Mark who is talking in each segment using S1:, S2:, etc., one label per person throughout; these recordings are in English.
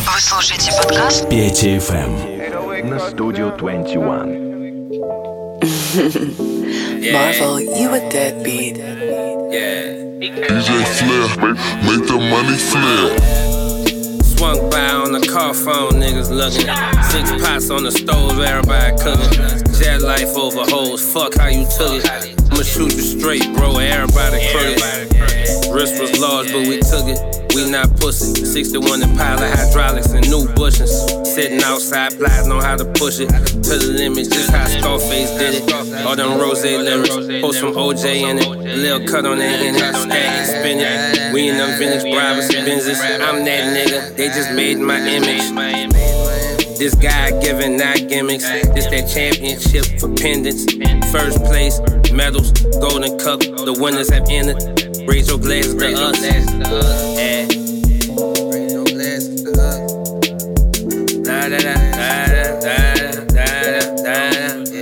S1: Вы слушаете подкаст
S2: Петя FM на Studio 21.
S3: Marvel, you a deadbeat.
S4: DJ Flair, make the money flare.
S5: Swung by on the car phone, niggas looking. 6 pots on the stove, everybody cooking. Jet life over hoes, fuck how you took it. I'ma shoot you straight, bro, everybody crooked. Wrist was large, but we took it. We not pussy. 61 Impala hydraulics and new bushings. Sitting outside, plotting on how to push it to the limit, just how Scarface did it. All them rose lyrics, post from OJ in it. A little cut on that in it, stack and spin it. We in them vintage Brabus Benzes. I'm that nigga, they just made my image. This guy giving not gimmicks. This that championship for pendants. First place, medals, golden cup. The winners have entered. Raise your glasses to us. Yeah. Raise your glasses to us. Da da da da da da da da.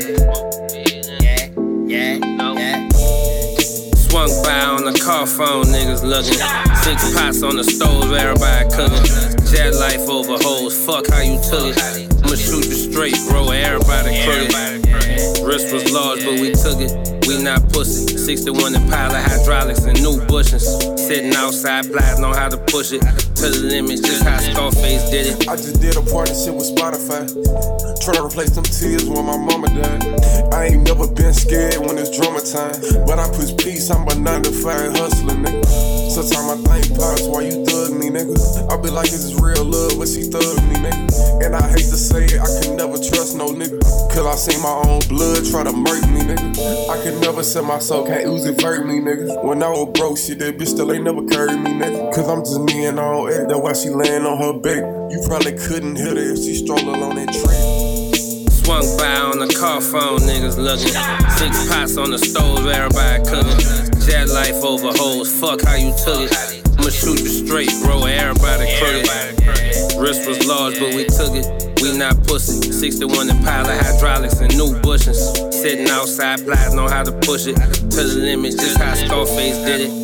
S5: Yeah. Swung by on the car phone, niggas looking. 6 pots on the stove, everybody cooking. Jet life over hoes, fuck how you took it. I'ma shoot you straight, bro, everybody crooked. Wrist was large, but we took it. We not pussy. 61 Impala hydraulics and new bushings. Sitting outside, plotting on how to push it to the limit, just how Scarface did it.
S6: I just did a partnership with Spotify. Tryna replace them tears when my mama died. I ain't never been scared when it's drama time. But I push peace, I'm a 9 to 5 hustler, nigga. Sometimes I think pops, why you thug me, nigga? I be like, this is real love, but she thug me, nigga. And I hate to say it, I can never trust no nigga. Cause I seen my own blood try to murk me, nigga. I can never say my soul can't ooze it, hurt me, nigga. When I was broke, shit, that bitch still ain't never carried me, nigga. Cause I'm just me and all that, that's why she laying on her back. You probably couldn't hit her if she strolled along that tree.
S5: Swung by on the car phone, niggas looking. 6 pots on the stove, everybody cooking. Jet life over hoes, fuck how you took it. I'ma shoot you straight, bro, everybody crooked. Wrist was large, but we took it. We not pussy. 61 Impala hydraulics and new bushings. Sitting outside, plotting on how to push it to the limit, just how Scarface did it.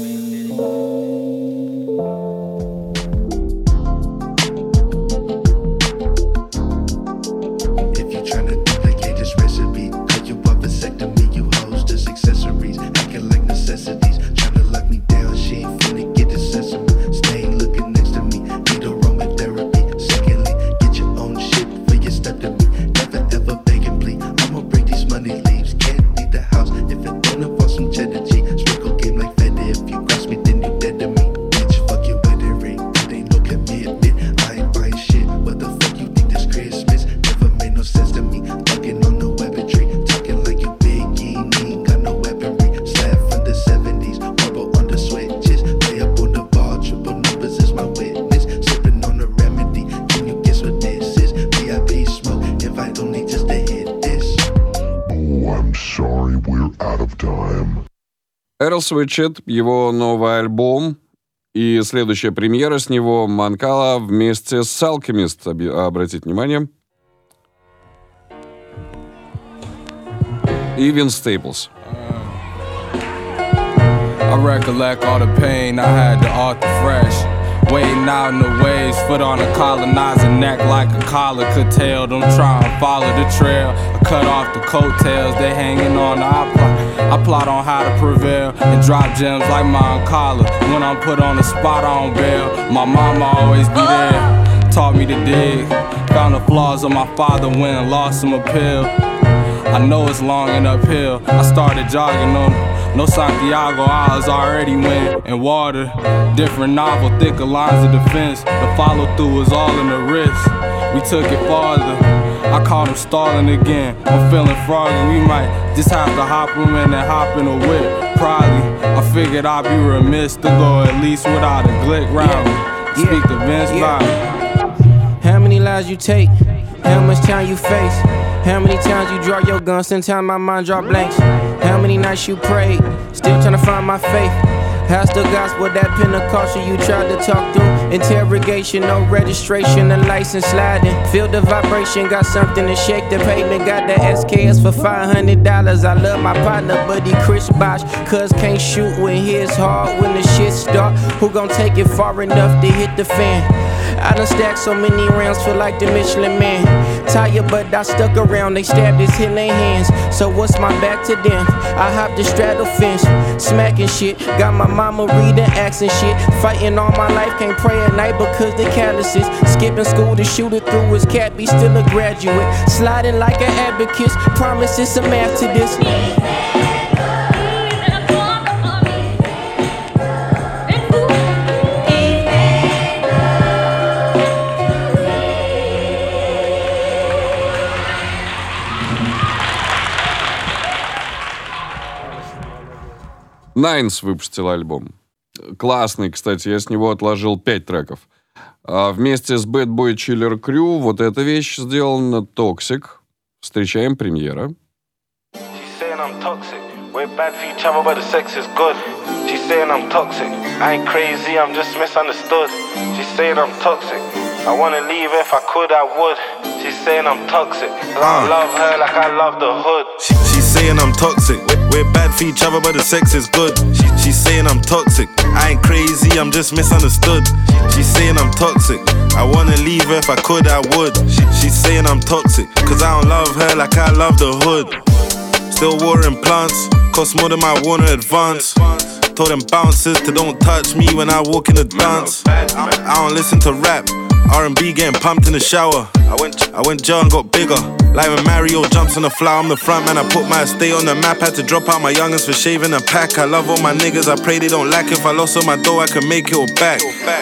S7: Эрл Свитчет, его новый альбом и следующая премьера с него Манкала вместе с Alchemist, обратите внимание. И Vince Staples.
S8: I recollect all the pain I had to Arthur Fresh. Waiting out in the waves, foot on a colonizer neck like a collar could tell them try and follow the trail. I cut off the coattails, they hanging on. I plot on how to prevail and drop gems like my collar. When I'm put on the spot, I don't bail. My mama always be there, taught me to dig. Found the flaws of my father when I lost him a pill. I know it's long and uphill. I started jogging on no Santiago, I was already win and water. Different novel, thicker lines of defense. The follow through was all in the wrist. We took it farther. I caught him stalling again. I'm feeling froggy. We might just have to hop him in and hop in a whip. Probably, I figured I'd be remiss to go at least without a glick round me. Speak to Vince Bobby.
S9: How many lives you take? How much time you face? How many times you draw your gun? Sometimes my mind draw blanks. How many nights you prayed? Still trying to find my faith. How's the gospel, that Pentecostal you tried to talk through? Interrogation, no registration, the license sliding. Feel the vibration, got something to shake the pavement. Got the SKS for $500. I love my partner, buddy Chris Bosh. Cuz can't shoot when his hard, when the shit start. Who gon' take it far enough to hit the fan? I done stacked so many rounds, feel like the Michelin Man. Tired, but I stuck around, they stabbed his in their hands. So what's my back to them? I hopped the straddle fence, smacking shit. Got my mama reading acts and shit. Fighting all my life, can't pray at night because the calluses. Skipping school to shoot it through his cat, be still a graduate. Sliding like an abacus, promise it's some math to this.
S7: Найнс выпустил альбом. Классный, кстати, я с него отложил 5 треков. А вместе с Bad Boy Chiller Crew вот эта вещь сделана Toxic. Встречаем премьера.
S1: She's saying I'm toxic. We're bad for each other, but the sex is good. She's saying I'm toxic. I ain't crazy, I'm just misunderstood. She's saying I'm toxic. I wanna leave if I could, I would. She's saying I'm toxic. I love her like I love the hood.
S10: She's saying I'm toxic. We're bad for each other, but the sex is good. She's saying I'm toxic. I ain't crazy, I'm just misunderstood. She's saying I'm toxic. I wanna leave her if I could, I would. She's saying I'm toxic. Cause I don't love her like I love the hood. Still watering plants. Cost more than my Warner advance. Told them bouncers to don't touch me when I walk in the dance. I don't listen to rap. R&B getting pumped in the shower. I went jar and got bigger. Like when Mario jumps on the flower, I'm the front man. I put my estate on the map. Had to drop out my youngins for shaving a pack. I love all my niggas, I pray they don't lack. If I lost all my dough, I can make it all back.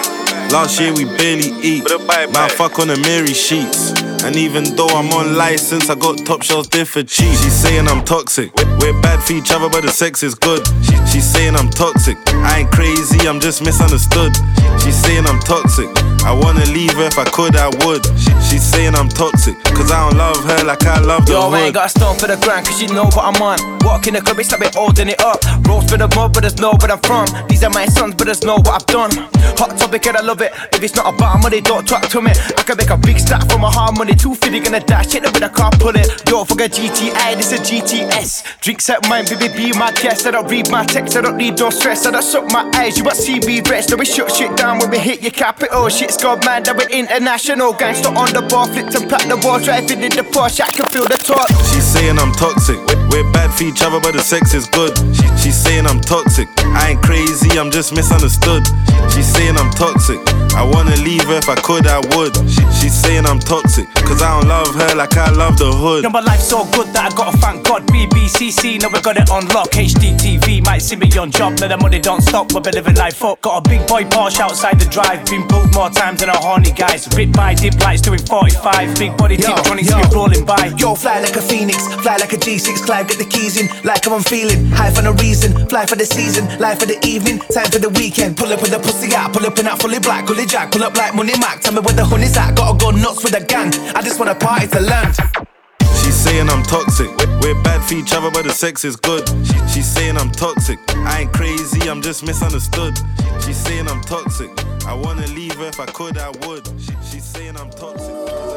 S10: Last year we barely eat. Now I fuck on the Mary sheets. And even though I'm on license, I got top shelves there for cheap. She's saying I'm toxic. We're bad for each other, but the sex is good. She's saying I'm toxic. I ain't crazy, I'm just misunderstood. She's saying I'm toxic. I wanna leave her if I could, I would. She's saying I'm toxic. Cause I don't love her like I love the hood.
S11: Yo, I ain't got a stone for the grind, cause you know what I'm on. Walk in the club, it's like we're holding it up. Rolls for the mud, but there's no where I'm from. These are my sons, but there's no what I've done. Hot topic and I love it. If it's not about money, don't talk to me. I can make a big stack from my hard money. 250 gonna dash, hit it with a car, pull it. Yo, fuck a GTI, this a GTS. Drinks at mine, baby, be my guest. I don't read my text, I don't need no stress. I don't suck my eyes, you won't see me rest. No, we shut shit down when we hit your capital. Shit's gone mad, that we're international. Gangster on the bar, flipped and packed the wall. Driving in the Porsche, I can feel the torque.
S10: She's saying I'm toxic. We're bad for each other, but the sex is good. She's saying I'm toxic. I ain't crazy, I'm just misunderstood. She's saying I'm toxic. I wanna leave her if I could, I would. She's saying I'm toxic. Cause I don't love her like I love the hood.
S11: Yo, my life's so good that I gotta thank God. BBCC, now we got it on lock. HDTV, might see me on job. Now the money don't stop, we'll be living life up. Got a big boy Porsche outside the drive. Been pulled more times than a horny guys. Ripped by dip lights doing 45. Big body Tiptronics be rolling by.
S12: Yo, fly like a phoenix, fly like a G6 Clive, get the keys in, like how I'm feeling. High for no reason, fly for the season, life for the evening, time for the weekend. Pull up with the pussy out, pull up in that fully black, fully jack, pull up like Money Mac. Tell me where the honey's at, gotta go nuts with the gang. I just wanna party to land.
S10: She's saying I'm toxic. We're bad for each other, but the sex is good. She's saying I'm toxic. I ain't crazy, I'm just misunderstood. She's saying I'm toxic. I wanna leave her if I could, I would. She's saying I'm toxic.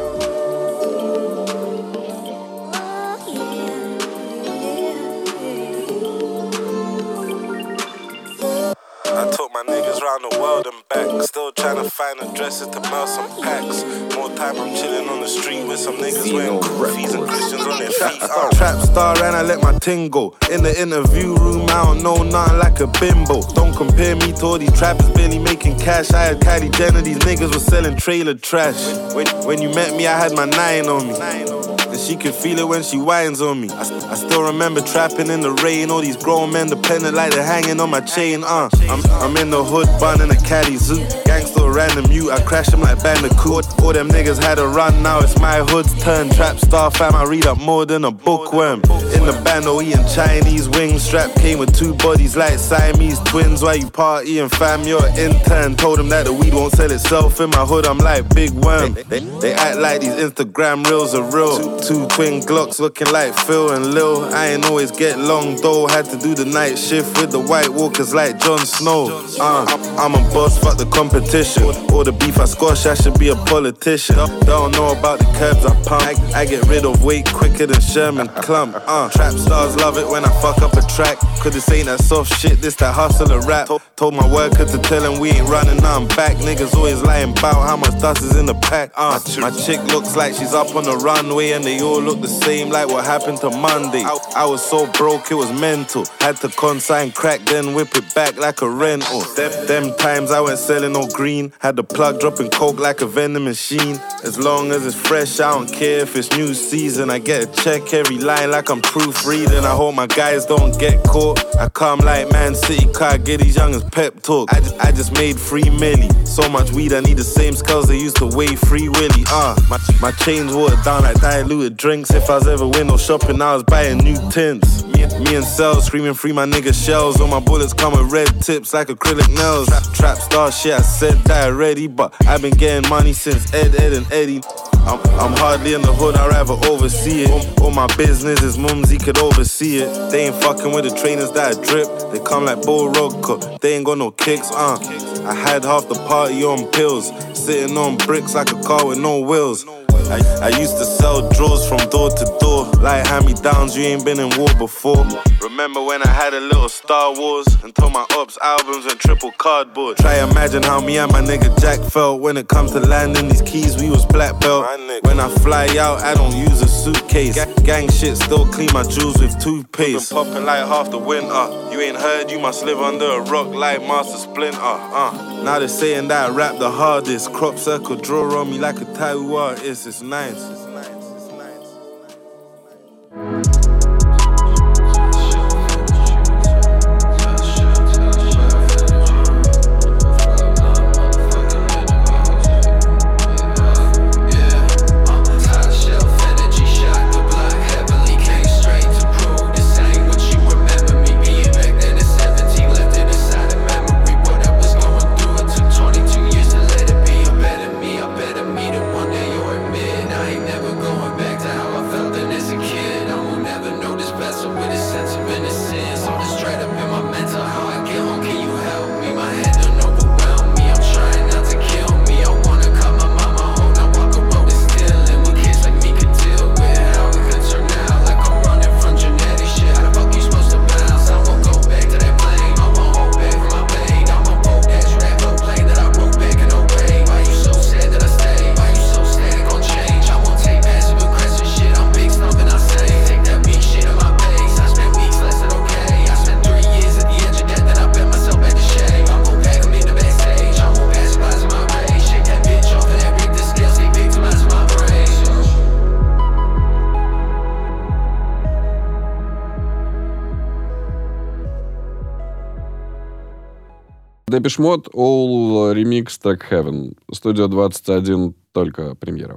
S10: I took my niggas round the world and back. Still trying to find addresses to mail some packs. More time I'm chilling on the street with some niggas wearing kufis and Christians on their feet. Trap star and I let my ting go. In the interview room, I don't know nothing like a bimbo. Don't compare me to all these trappers barely making cash. I had Kylie Jenner, these niggas were selling trailer trash. When you met me, I had my 9 on me. And she can feel it when she whines on me. I still remember trapping in the rain. All these grown men dependent like they're hanging on my chain. I'm in the hood, bun in a caddy zoo. Gangster ran the mute, I crashed them like Bandicoot. All them niggas had a run, now it's my hood's turn. Trap star fam, I read up more than a bookworm. In the band, oh, eating Chinese wings. Strap came with 2 bodies like Siamese twins. While you partying fam, you're an intern. Told them that the weed won't sell itself in my hood, I'm like Big Worm. They act like these Instagram reels are real. Two twin Glocks looking like Phil and Lil. I ain't always get long though. Had to do the night shift with the White Walkers like Jon Snow. I'm a boss, fuck the competition. All the beef I squash, I should be a politician. Don't know about the curbs I pump. I get rid of weight quicker than Sherman Clump. Trap stars love it when I fuck up a track. Cause this ain't that soft shit, this that hustle and rap. Told my worker to tell him we ain't running, now I'm back. Niggas always lying about how much dust is in the pack. My chick looks like she's up on the runway, and they all look the same like what happened to Monday. I was so broke it was mental. Had to consign crack then whip it back like a rental. Them times I went selling no green. Had the plug dropping coke like a vending machine. As long as it's fresh, I don't care if it's new season. I get a check every line like I'm proofreading. I hope my guys don't get caught. I come like Man City car, get these youngins pep talk. I just made 3 milli. So much weed I need the same skulls they used to weigh Free Willy. My chains watered down like diluted drinks. If I was ever window shopping, I was buying new tints. Me and Cell screaming free my nigga shells. All my bullets come with red tips like acrylic nails. Trap star shit, I said that already, but I've been getting money since Ed, and Eddie. I'm hardly in the hood, I'd rather oversee it. All my business is Mumsy could oversee it. They ain't fucking with the trainers that I drip. They come like Bull Rock, they ain't got no kicks, I had half the party on pills, sitting on bricks like a car with no wheels. I used to sell drawers from door to door, like hand-me-downs, you ain't been in war before. Remember when I had a little Star Wars and told my ops albums and triple cardboard. Try imagine how me and my nigga Jack felt when it comes to landing these keys, we was black belt. When I fly out, I don't use a suitcase. Gang shit still clean my jewels with toothpaste. Been popping like half the winter. You ain't heard, you must live under a rock like Master Splinter. Now they're saying that I rap the hardest. Crop circle draw on me like a tattoo artist. It's nice.
S7: Depeche Mode, All Remix Track Heaven. Студия 21, только премьера.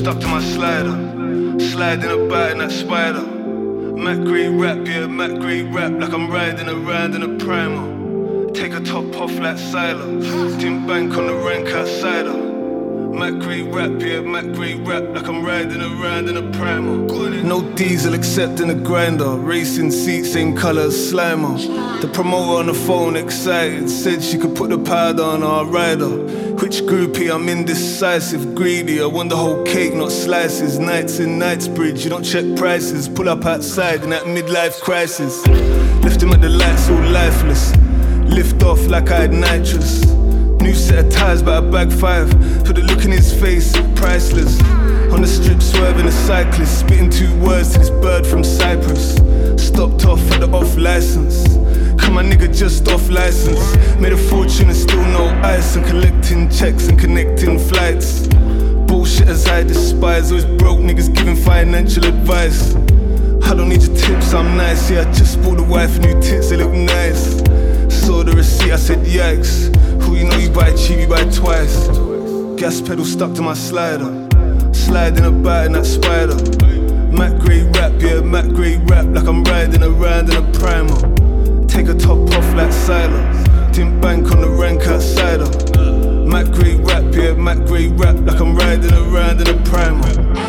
S13: stuck to my slider. Sliding about in that spider. Mac Gray rap, yeah, Mac Gray rap, like I'm riding around in a primer. Take a top off like Siler. Tim bank on the rank outside her. Mac Gray rap, yeah, Mac Gray rap, like I'm riding around in a primer. No diesel except in a grinder. Racing seat, same colour as Slimer. The promoter on the phone excited, said she could put the powder on our rider. Which groupie? I'm indecisive, greedy. I want the whole cake, not slices. Nights in Knightsbridge, you don't check prices. Pull up outside in that midlife crisis. Left him at the lights all lifeless. Lift off like I had nitrous. New set of ties, but I bag 5. Put the look in his face, priceless. On the strip, swerving a cyclist. Spitting 2 words to this bird from Cyprus. Stopped off for the off license. Come my nigga just off license. Made a fortune and still no ice. And collecting checks and connecting flights. Bullshitters I despise. Always broke niggas giving financial advice. I don't need your tips, I'm nice. Yeah, I just bought the wife new tits, they look nice. Saw the receipt, I said yikes. Who you know you buy cheap, you buy twice. Gas pedal stuck to my slider. Sliding about in that spider. Mac Gray rap, yeah, Mac Gray rap, like I'm riding around in a primer. Take a top off like Siler. Tim bank on the rank outside her. Mac Gray rap, yeah, Mac Gray rap, like I'm riding around in a primer.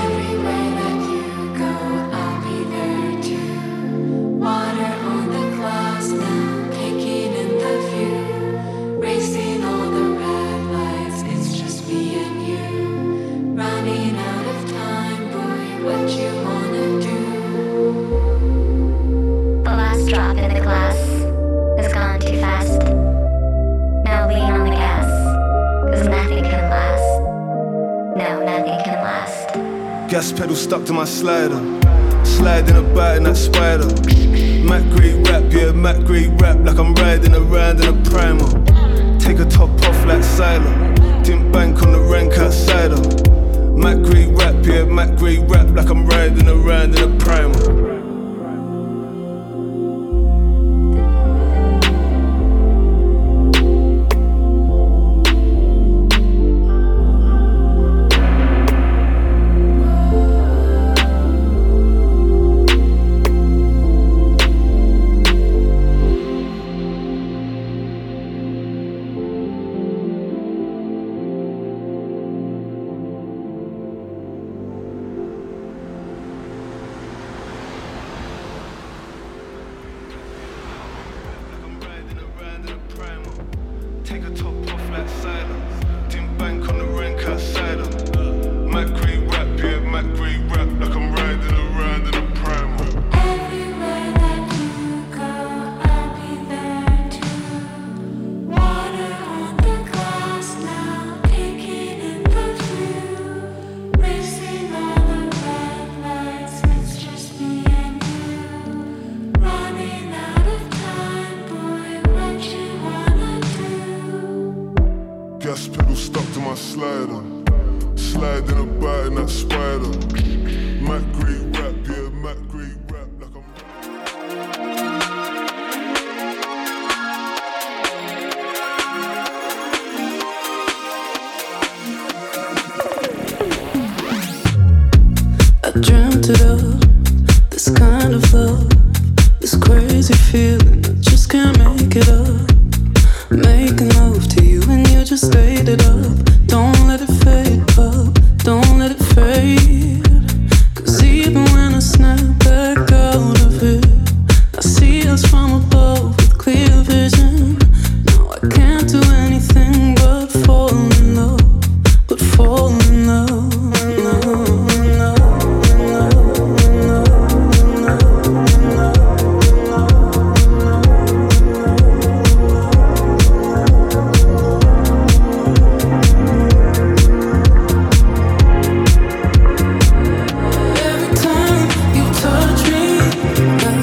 S13: Gas pedal stuck to my slider. Sliding about in that spider. Mac Gray rap, yeah, Mac Gray rap, like I'm riding around in a primer. Take a top off like Siler. Didn't bank on the rank outside her. Mac Gray rap, yeah, Mac Gray rap, like I'm riding around in a primer.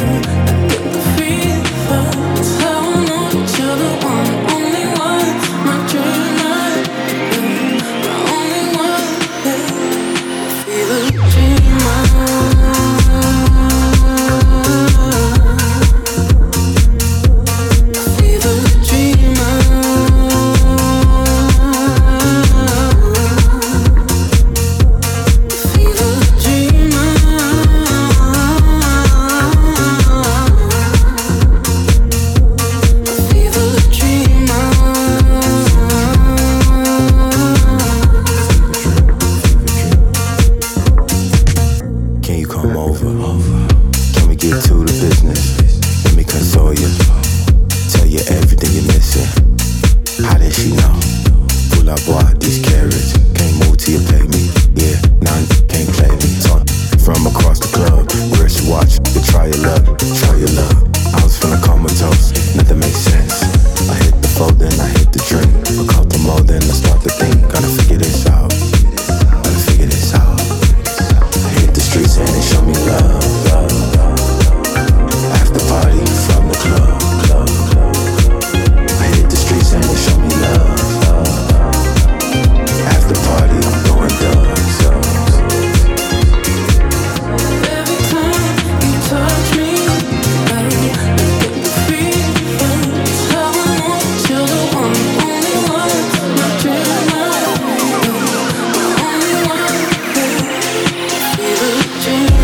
S14: My that she know. Pull up, boy, this carriage. Can't move till you pay me. Yeah, none can't play me. Talk from across the club. Where she watch, you try your luck, try your luck. I was feeling comatose, nothing makes sense. I hit the fold, then I hit the drink. I caught the mode, then I start to think. Gotta figure this out, gotta figure this out. I hit the streets and they show me love, love, love. After party from the club, club, club. I hit the streets and they show me love, love. After party, I'm going dumb.
S15: Every time you touch me, I get the feeling. It's how I want you, the one, only one. My dream, my only one. Feel the dream.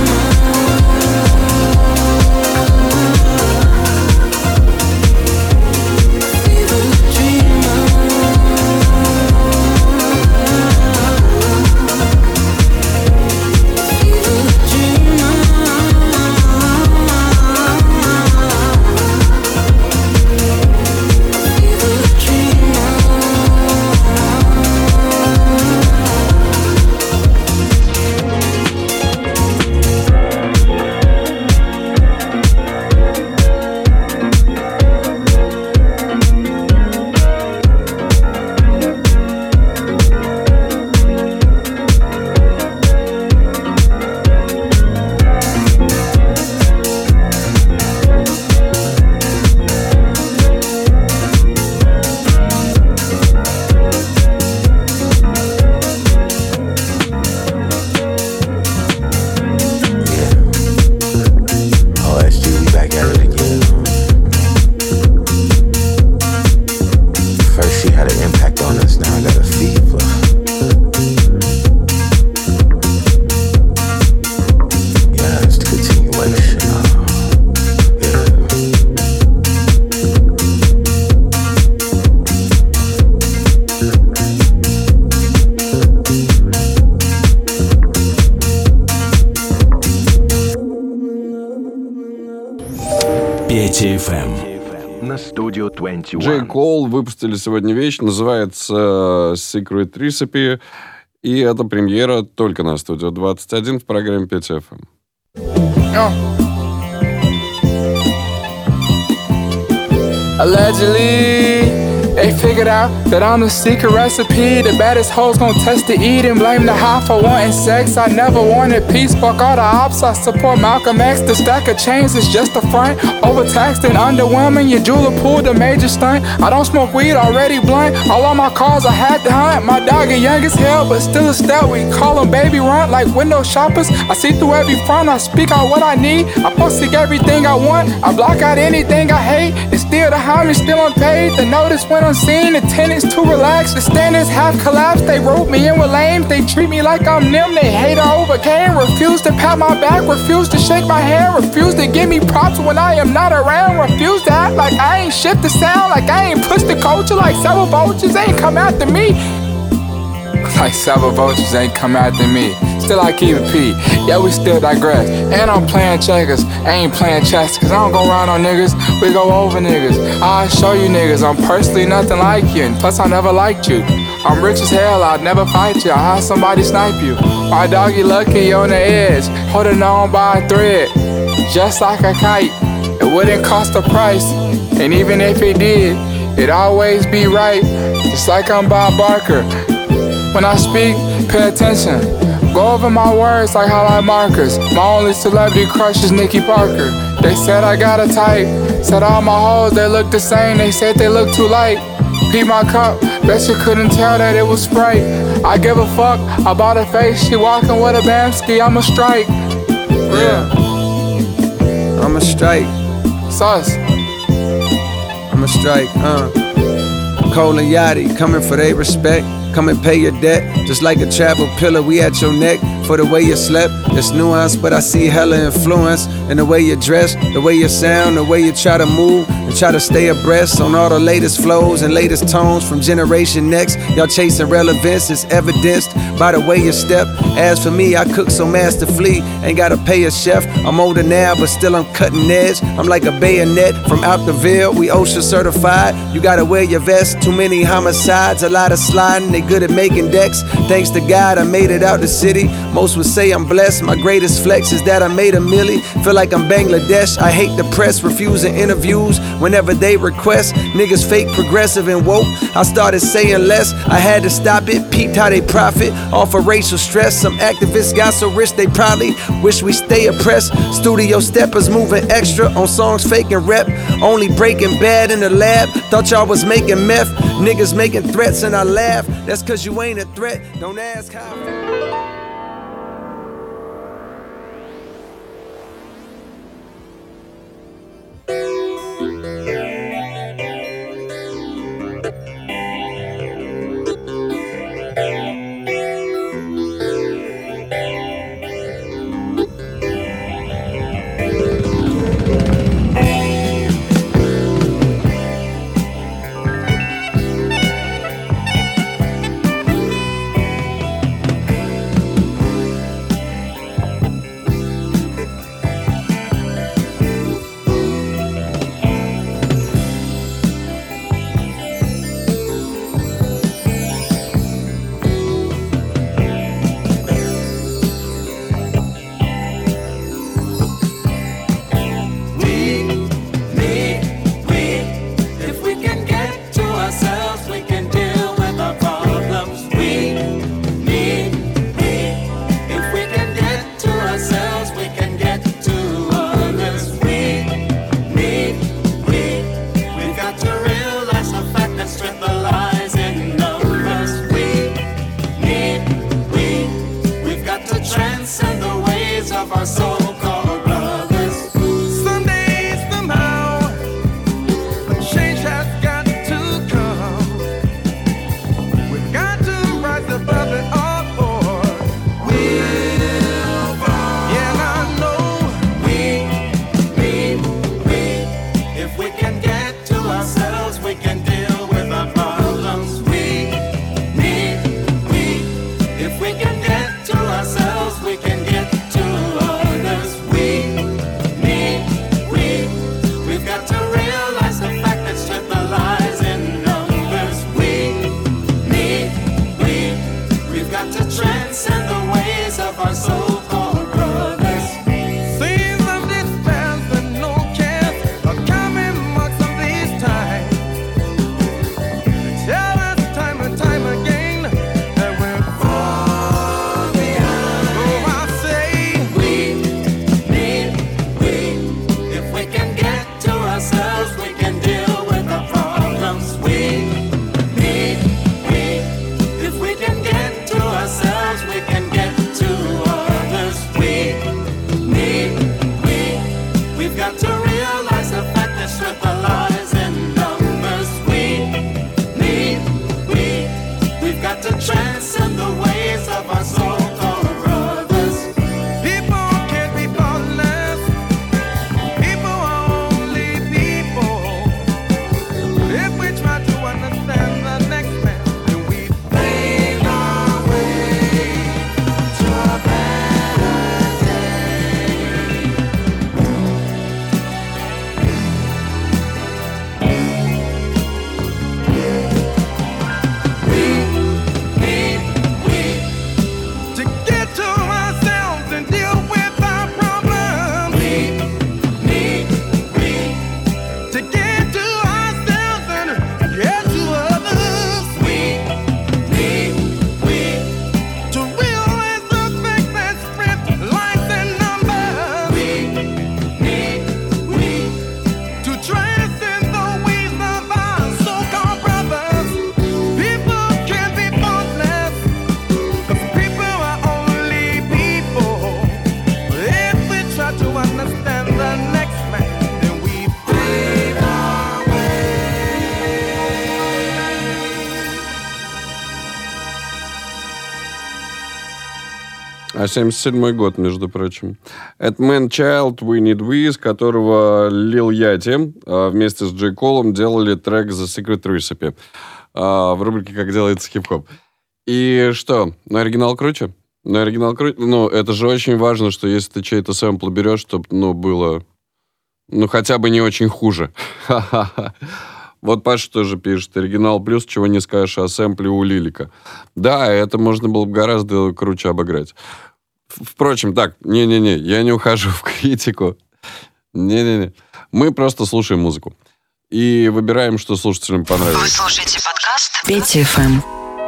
S2: на Studio 21.
S7: J. Cole выпустили сегодня вещь, называется Secret Recipe, и это премьера только на Studio 21 в программе Петя FM.
S16: Allegedly, they figured out that I'm the secret recipe. The baddest hoes gon' test to eat and blame the high for wanting sex. I never wanted peace, fuck all the ops. I support Malcolm X. The stack of chains is just a front. Overtaxed and underwhelming, your jeweler pulled a major stunt. I don't smoke weed, already blunt. All on my cars I had to hunt. My dog is young as hell, but still a stout. We call him baby runt like window shoppers. I see through every front, I speak out what I need. I posted everything I want, I block out anything I hate. And still the homie still unpaid. The notice went unseen, the tenants too relaxed. The standards have collapsed, they wrote me in with lames. They treat me like I'm them, they hate I overcame. Refuse to pat my back, refuse to shake my hand. Refuse to give me props when I am not around. Refuse to act like I ain't shift the sound. Like I ain't push the culture, like several vultures ain't come after me. Like several vultures ain't come after me. Still I keep it P, yeah we still digress. And I'm playing checkers, I ain't playing chess. Cause I don't go around on niggas, we go over niggas. I'll show you niggas, I'm personally nothing like you. And plus I never liked you. I'm rich as hell, I'd never fight you. I'll have somebody snipe you. My doggy lucky on the edge, holding on by a thread. Just like a kite, it wouldn't cost a price. And even if it did, it'd always be right. Just like I'm Bob Barker. When I speak, pay attention. Go over my words like highlight markers. My only celebrity crush is Nikki Parker. They said I got a type. Said all my hoes, they look the same. They said they look too light. Pee my cup, bet you couldn't tell that it was Sprite. I give a fuck about her face. She walking with a Bamski, I'm a strike. Yeah,
S17: I'm a strike.
S16: Sus.
S17: I'm a strike, Cole and Yachty coming for their respect. Come and pay your debt, just like a travel pillar, we at your neck. For the way you slept, it's nuance, but I see hella influence in the way you dress, the way you sound, the way you try to move. and try to stay abreast on all the latest flows and latest tones from Generation Next. Y'all chasing relevance is evidenced by the way you step. As for me, I cook so masterfully, ain't gotta pay a chef. I'm older now, but still I'm cutting edge. I'm like a bayonet from out the Ville. We OSHA certified. You gotta wear your vest. Too many homicides, a lot of sliding. They good at making decks. Thanks to God, I made it out the city. Most would say I'm blessed. My greatest flex is that I made a milli. Feel like I'm Bangladesh. I hate the press, refusing interviews whenever they request. Niggas fake, progressive, and woke. I started saying less. I had to stop it. Peeped how they profit off of racial stress. Some activists got so rich they probably wish we stay oppressed. Studio steppers moving extra on songs faking rep. Only breaking bad in the lab. Thought y'all was making meth. Niggas making threats and I laugh. That's cause you ain't a threat. Don't ask how.
S7: А 77-й год, между прочим. Это Man Child, We Need We, с которого Lil Yachty вместе с Джей Колом делали трек The Secret Recipe в рубрике «Как делается хип-хоп». И что, на оригинал круче? На оригинал круче? Ну, это же очень важно, что если ты чей-то сэмпл берешь, чтобы, было, хотя бы не очень хуже. Вот Паша тоже пишет, оригинал плюс, чего не скажешь о сэмпле у Лилика. Да, это можно было бы гораздо круче обыграть. Впрочем, так, не-не-не, я не ухожу в критику. Не-не-не. Мы просто слушаем музыку. И выбираем, что слушателям понравилось.
S3: Вы слушаете подкаст Петя ФМ.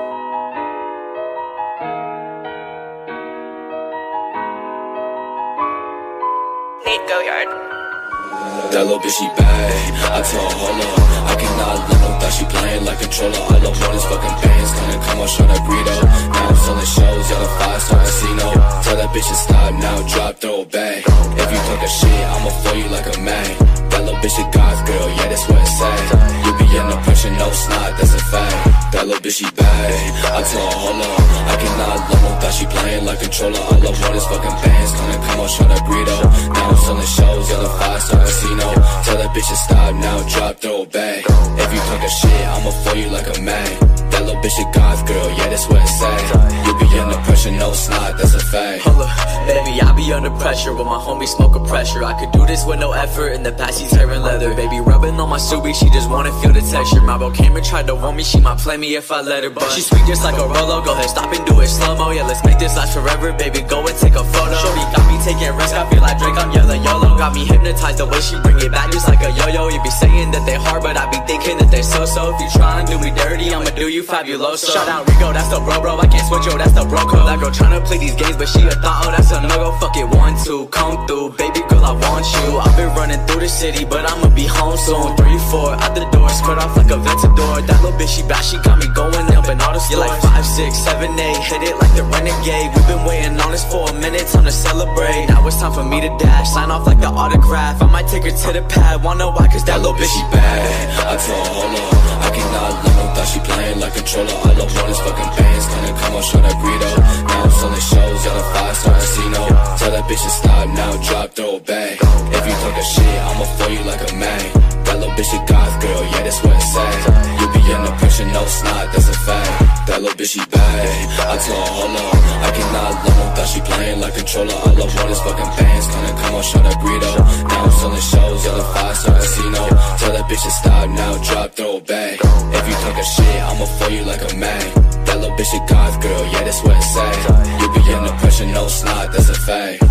S18: That little bitch, she bad. I told her, hold up, I cannot let no thought she playing like controller. All I want is fucking bands, gonna come on, show that burrito. Now I'm selling shows at a 5-star casino. Tell that bitch to stop now, drop, throw it back. If you talk a shit, I'ma fool you like a man. That little bitch a God's girl, yeah, that's what it say. You be under pressure, no snot, that's a fact. That little bitch, she bad. I told her, hold up, I cannot let no thought she playing like controller. All I want is fucking bands, gonna come on, show that burrito. Now I'm selling shows at a 5-star casino. Tell that bitch to stop now, drop, throw it back. If you talk a shit, I'ma fool you like a man. That little bitch a God's girl, yeah, that's what it say. You be under pressure, no snot, that's a fact.
S19: Hold up, baby, I be under pressure with my homie smoking pressure. I could do this with no effort. In the past, she's tearing leather. Baby, rubbing on my Subi, she just wanna feel the texture. My bro came and tried to warn me, she might play me if I let her. But she's sweet just like a Rolo. Go ahead, stop and do it slow-mo. Yeah, let's make this last forever, baby, go and take a photo. Shorty got me taking risks, I feel like Drake, I'm yelling YOLO. Got me hypnotized the way she bring it back just like a yo-yo. You be saying that they hard, but I be thinking that they so-so. If you try and do me dirty, I'ma do you fabuloso. Shout out Rico, that's the bro, I can't switch, yo, that's the bro code. That girl tryna play these games, but she a thought, oh, that's a no-go. Fuck it, 1, 2, come through, baby girl, I want you. I've been running through the city, but I'ma be home soon. 3, 4, out the door, skirt off like a Ventador. That little bitch, she bad, she got me going up in all the stores. You're like 5, 6, 7, 8, hit it like the Renegade. We've been waiting on this for a minute, time to celebrate. Now it's time for me to dash, sign off like the autograph. I might take her to the pad, wanna know why, cause that little bitch, she bad.
S18: I told her, hold up, I cannot let no thought she playing like controller. All I want is fucking bands, gonna come on, show that burrito. Now I'm selling shows at a 5-star casino. Tell that bitch to stop now, drop, throw it back. If you talk a shit, I'ma fool you like a man. That little bitch a God's girl, yeah, that's what it say. You be under pressure, no snot, that's a fact. That little bitch, she bad. I told her, hold up, I cannot let no thought she playing like controller. All I want is fucking bands, gonna come on, show that burrito. Now I'm selling shows at a 5-star casino. Tell that bitch to stop now, drop, throw it back. If you talk a shit, I'ma fool you like a man. That little bitch a God's girl, yeah, that's what it say. You be under pressure, no snot, that's a fact.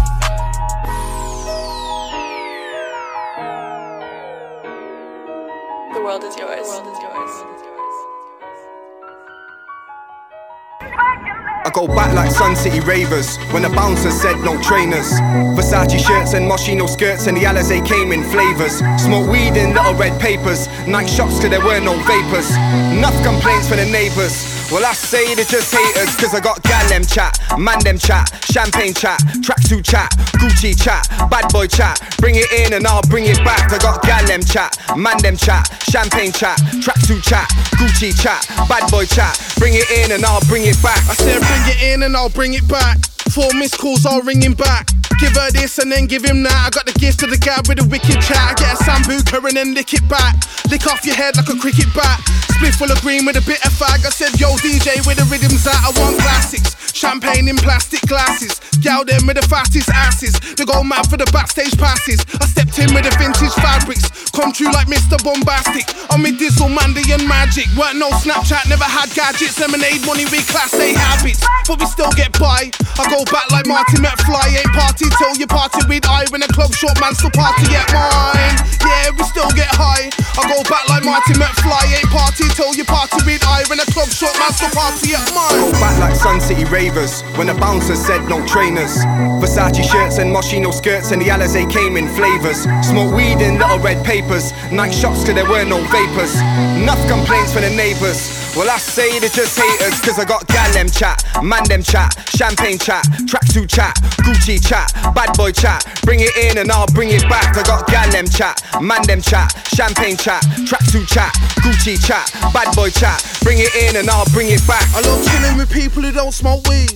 S15: The world is yours.
S20: I go back like Sun City Ravers when the bouncer said no trainers. Versace shirts and Moschino skirts and the Alizé came in flavors. Smoke weed in little red papers, night shots till there were no vapors. Enough complaints from the neighbours. Well, I say they're just haters, cause I got gal them chat, man them chat, champagne chat, tracksuit chat, Gucci chat, bad boy chat. Bring it in and I'll bring it back. I got gal them chat, man them chat, champagne chat, tracksuit chat, Gucci chat, bad boy chat. Bring it in and I'll bring it back.
S21: I said bring it in and I'll bring it back. 4 missed calls, I'll ring him back. Give her this and then give him that. I got the gift of the guy with a wicked chat. I get a sambuca and then lick it back. Lick off your head like a cricket bat. Split full of green with a bit of fag. I said, yo DJ, where the rhythm's at? I want classics. Champagne in plastic glasses. Gal them with the fastest asses. They go mad for the backstage passes. I stepped in with the vintage fabrics. Come true like Mr. Bombastic. I'm with Dizzle, Mandy and Magic. Weren't no Snapchat, never had gadgets. Lemonade money with class A habits. But we still get by. I go back like Marty McFly. Ain't party till you party with I. When the club short man still party at mine. Yeah, we still get high. I go back like Marty McFly. Ain't party till you party with I. When the club short man still party at mine.
S20: I go back like Sun City Ravers when the bouncer said no trainers. Versace shirts and Moschino skirts and the Alizé came in flavors. Smoke weed in little red papers. Night shots till there were no vapors. Enough complaints from the neighbours. Well, I say they're just haters, cause I got gal them chat, man them chat, champagne chat, tracksuit chat, Gucci chat, bad boy chat. Bring it in and I'll bring it back. I got gal them chat, man them chat, champagne chat, tracksuit chat, Gucci chat, bad boy chat. Bring it in and I'll bring it back.
S21: I love chilling with people who don't smoke weed.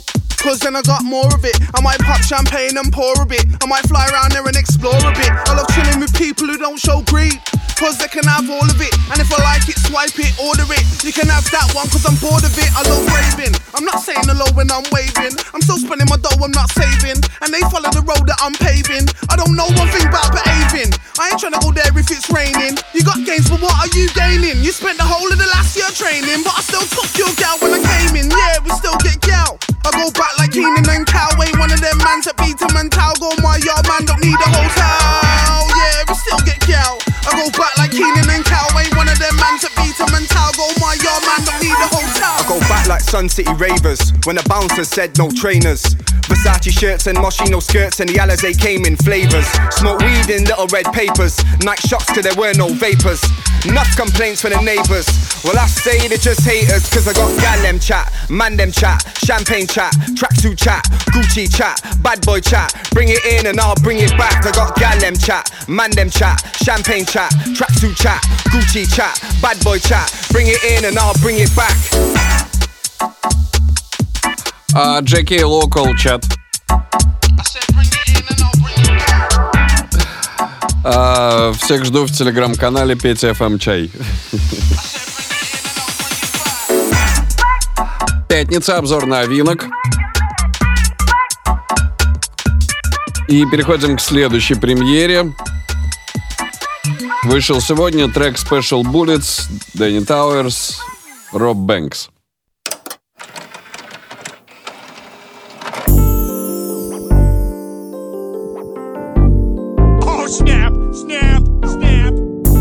S21: cause then I got more of it. I might pop champagne and pour a bit. I might fly around there and explore a bit. I love chilling with people who don't show greed, cause they can have all of it. And if I like it, swipe it, order it. You can have that one cause I'm bored of it. I love raving. I'm not saying hello when I'm waving. I'm still spending my dough, I'm not saving. And they follow the road that I'm paving. I don't know one thing about behaving. I ain't trying to go there if it's raining. You got gains, but what are you gaining? You spent the whole of the last year training, but I still took your gal when I came in. Yeah, we still get gal. I go back like Keenan and Cal. Ain't one of them mans that beat him and towel. Go my yard man, don't need a hotel. Yeah, we still get gal. I go back like Keenan and Cal. Ain't one of them mans that beat him and towel. Go my yard man, don't need a hotel.
S20: I go back like Sun City Ravers when the bouncer said no trainers. Versace shirts and Moschino skirts and the Alizé came in flavors. Smoke weed in little red papers. Night shots till there were no vapors. Enough complaints for the neighbours. Well, I say they're just haters, cause I got gal them chat, man them chat, champagne chat, tracksuit chat, Gucci chat, bad boy chat. Bring it in and I'll bring it back. I got gal them chat, man them chat, champagne chat, tracksuit chat, Gucci chat, bad boy chat. Bring it in and I'll bring it back.
S7: JK Local чат. Всех жду в телеграм-канале Петя FM Чай. Пятница, обзор новинок. И переходим к следующей премьере. Вышел сегодня трек Special Bullets, Danny Towers, Rob Banks.
S4: Snap, snap, snap.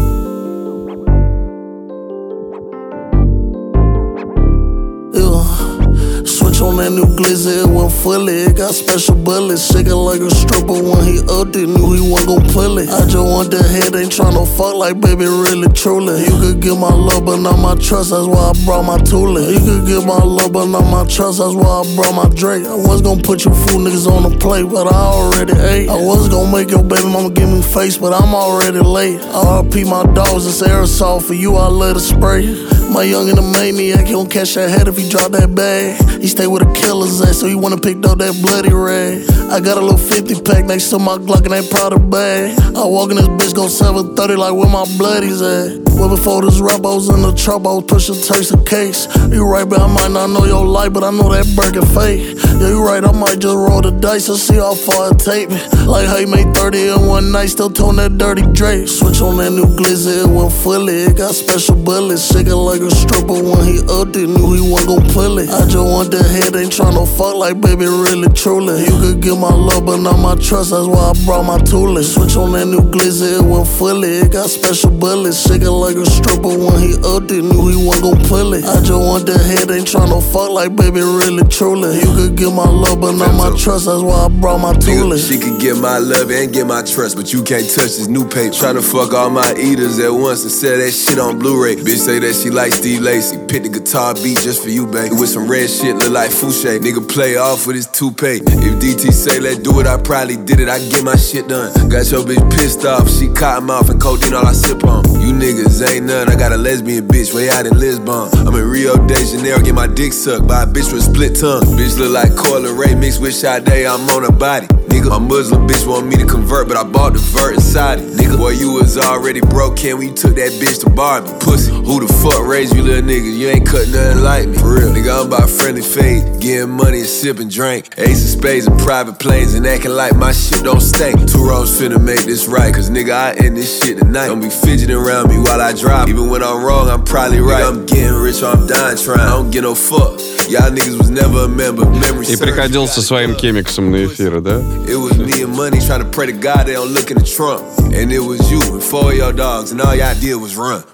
S22: Switch on that new glizzy, it went fully. It got special bullets, shaking like a stripper. When he upped it, knew he wasn't gon' pull it. I just want the head, ain't tryna fuck like baby, really, truly. You could get my love, but not my trust, that's why I brought my tooling. You could get my love, but not my trust, that's why I brought my Drake. I was gon' put you fool niggas on the plate, but I already ate. I was gon' make your baby mama give me face, but I'm already late. RP my dogs, it's aerosol, for you I let it spray. My youngin' a maniac, he don't catch that head if he drop that bag. He stay with a killer's ass, so he wanna pick up that bloody rag. I got a little 50 pack next to my Glock and they proud of bag. I walk in this bitch, go 730 like where my bloodies at. Well, before this rap, I was in the trap, I was pushing Turks and cakes. You right, but I might not know your life, but I know that Birkin fake. Yeah, you right, I might just roll the dice and see how far it take me. Like how you made 30 in one night, still tone that dirty Drake. Switch on that new glizzy, it went fully. It got special bullets, shaking like a stripper. When he upped it, knew he wasn't gon' pull it. I just want the head, ain't tryna fuck like baby, really, truly. You could get my love, but not my trust, that's why I brought my tooling. Switch on that new glizzy, it went fully. It got special bullets, shaking like a stripper. When he upped it, knew he wasn't gon' pull it. I just want the head, ain't tryna fuck like baby, really, truly. You could get my love, but not my trust, that's why I brought my tooling.
S23: She could get my love and get my trust, but you can't touch this new paper. Tryna fuck all my eaters at once and sell that shit on Blu-ray. Bitch say that she like Steve Lacy, pick the guitar beat just for you, babe. With some red shit, look like Fouché. Nigga play off with his toupee. If DT say let's do it, I probably did it, I get my shit done. Got your bitch pissed off, she cotton mouth and codeine all I sip on. You niggas ain't none, I got a lesbian bitch way out in Lisbon. I'm in Rio de Janeiro, get my dick sucked by a bitch with a split tongue. Bitch look like Coyle Ray mixed with Sade, I'm on her body. Nigga, my Muslim bitch want me to convert, but I bought the vert inside it. Nigga, boy, you was already broke, Ken, when you took that bitch to Barbie. Pussy, who the fuck raised you little niggas? You ain't cut nothing like me. For real, nigga, I'm about friendly fade, getting money and sipping drink. Ace of spades and private planes and acting like my shit don't stink. Two rows finna make this right, cause nigga, I end this shit tonight. Don't be fidgeting around me while I drive. Even when I'm wrong, I'm probably right. Nigga, I'm getting rich or I'm dying trying. I don't get no fuck. Y'all niggas was never a member. Memory
S7: И приходил со своим кемиксом на эфиры, да?
S23: It was me and money trying to pray to God they don't look in the trunk. And it was you and 4 of your dogs and all y'all did was run.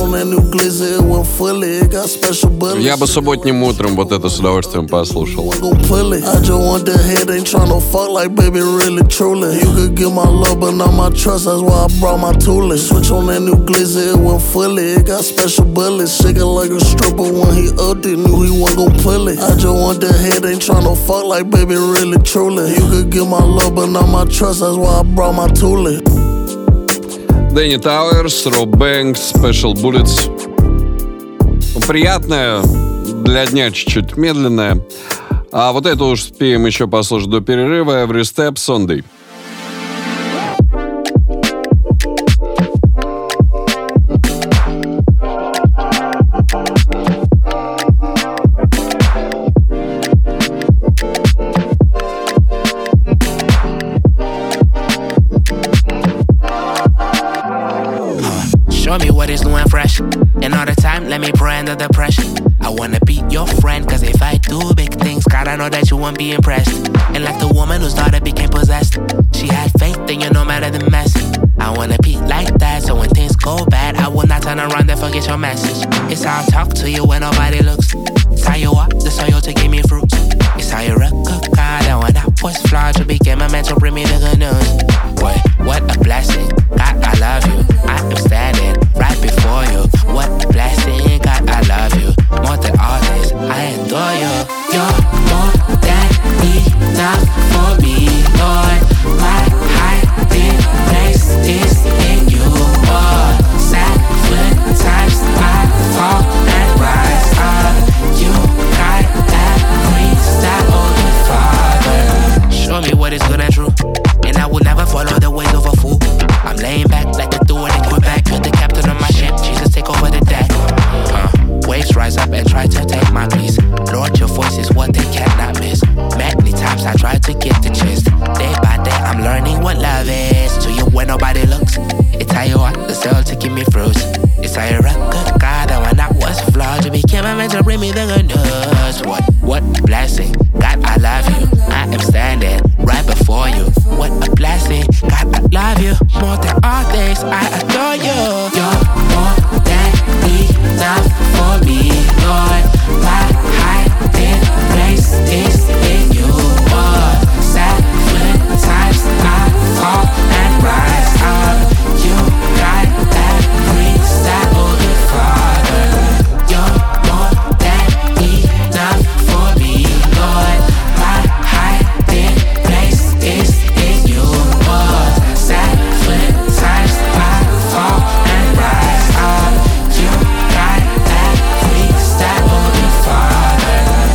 S7: Я бы субботним утром вот это с удовольствием послушал. Danny Towers, Rob Banks, Special Bullets. Приятная, для дня чуть-чуть медленная. А вот это уж успеем еще послушать до перерыва. Every Step Sunday.
S9: Show me what is new and fresh. And all the time, let me pray under the pressure. I wanna be your friend, cause if I do big things, God, I know that you won't be impressed. And like the woman whose daughter became possessed, she had faith in you no matter the mess. I wanna be like that, so when things go bad, I will not turn around and forget your message. It's how I talk to you when nobody looks. It's how you walk the soil to give me fruits. It's how you rock God, and when I was flawed, you became a man to bring me the good news. Boy, what a blessing, God, I love you. I am standing right before you. What a blessing, God, I love you. More than all this, I adore you. You're more than enough for me, Lord. My hiding place is in you, Lord. 7 times I fall and rise up. You got that freestyle, oh good Father. Show me what is good and true, and I will never follow the ways of a fool. I'm laying back like the door and quit back. You're the captain of my ship, Jesus, take over the deck. Waves rise up and try to take my peace. Lord, your voice is what they cannot miss. Many times I try to get the gist. Day by day I'm learning what love is. To you when nobody looks, it's how you walk the soul to give me fruits. It's how you rock good God, and when I was flawed, you became a man to bring me the good news. What a blessing, God, I love you. I am standing right before you. What a blessing, God, I love you. More than all things, I adore you. You're more than enough for me, Lord. My hiding place is in you, Lord. 7 times I fall and rise up. You got that freestyle, oh good Father. You're more than enough for me, Lord. My hiding place is in you, Lord. 7 times I fall and rise up. You got that freestyle, oh good Father.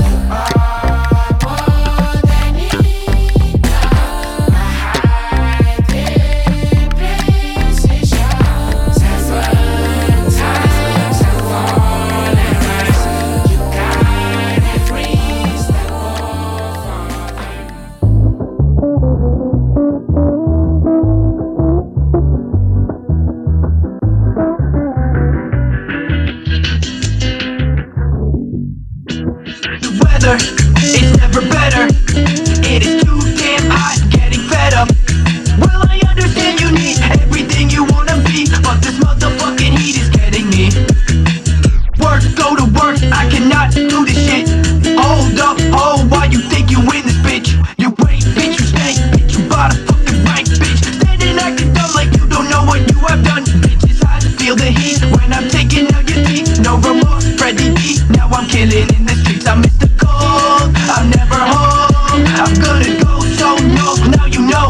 S11: It's never better. It is too damn hot, getting fed up. Well, I understand you need everything you wanna be, but this motherfucking heat is getting me. Work, go to work, I cannot do this shit. Hold up, oh, why you think you win this, bitch? You ain't, bitch, you stank, bitch, you bought a fucking rank, bitch. Standing acting dumb like you don't know what you have done. Bitch, it's hot to feel the heat when I'm taking out your teeth. No remorse, Freddie B, now I'm killing in the streets. I'm Mr. Cold, I'm never home. I'm gonna go so no, now you know.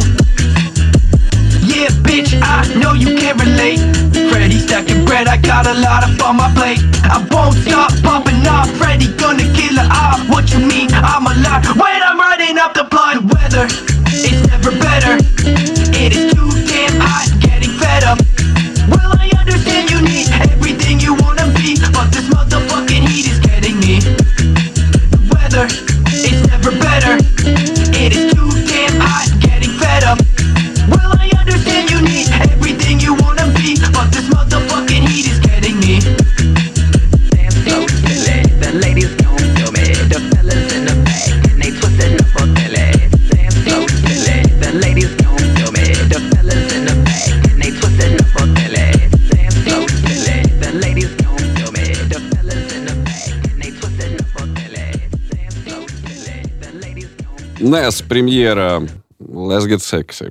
S11: Yeah, bitch, I know you can't relate. Freddie stacking bread, I got a lot up on my plate. I won't stop popping off. Freddie gonna kill it off. What you mean? I'm alive when I'm riding up the block. The weather, it's never better. It is too damn hot, getting fed up. Well, I understand you need everything you wanna be, but this motherfucking heat is getting me. The weather, it's never better. It is too damn hot, getting fed up. Well, I understand you need everything you wanna be, but this motherfucking heat is getting me. Damn so silly, the ladies gon' feel me. The fellas in the back, and they twisting up for Billy. Damn so silly, the ladies gon' feel me. The fellas in the back, and they twisting up for Billy. Damn so silly, the ladies gon' feel me. The fellas in the back, and they twisting up for Billy. Damn so silly, the ladies gon'
S7: Ness, премьера Let's Get Sexy.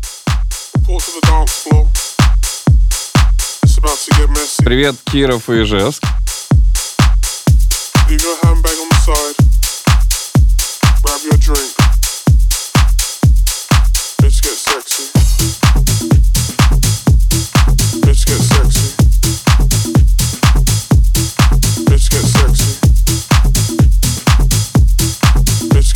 S7: Привет, Киров и Ижевск.
S5: Leave your handbag on the side. Grab your drink. Let's get sexy. Let's get sexy. Let's get sexy. Let's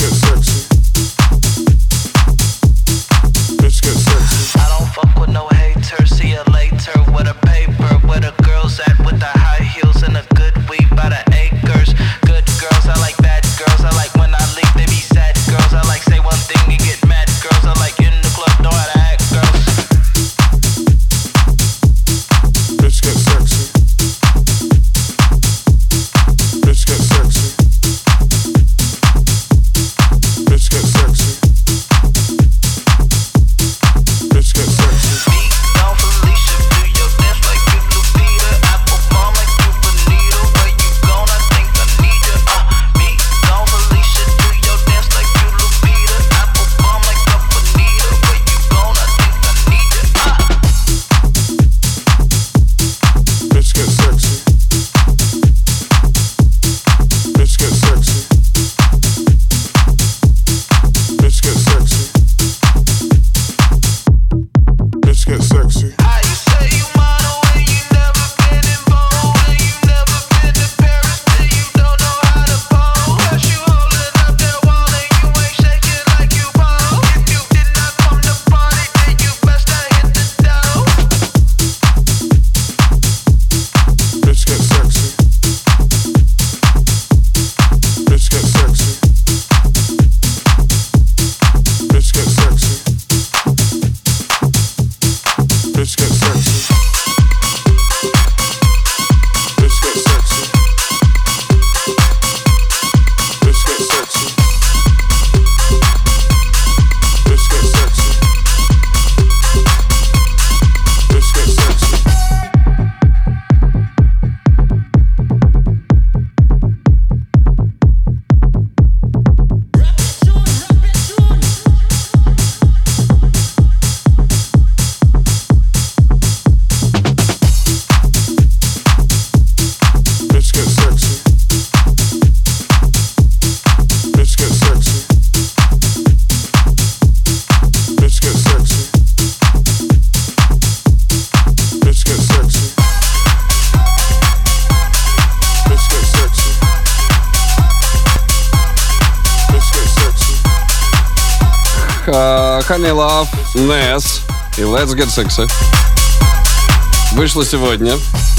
S7: Honey Love, Ness и Let's Get Sexy. Вышло сегодня.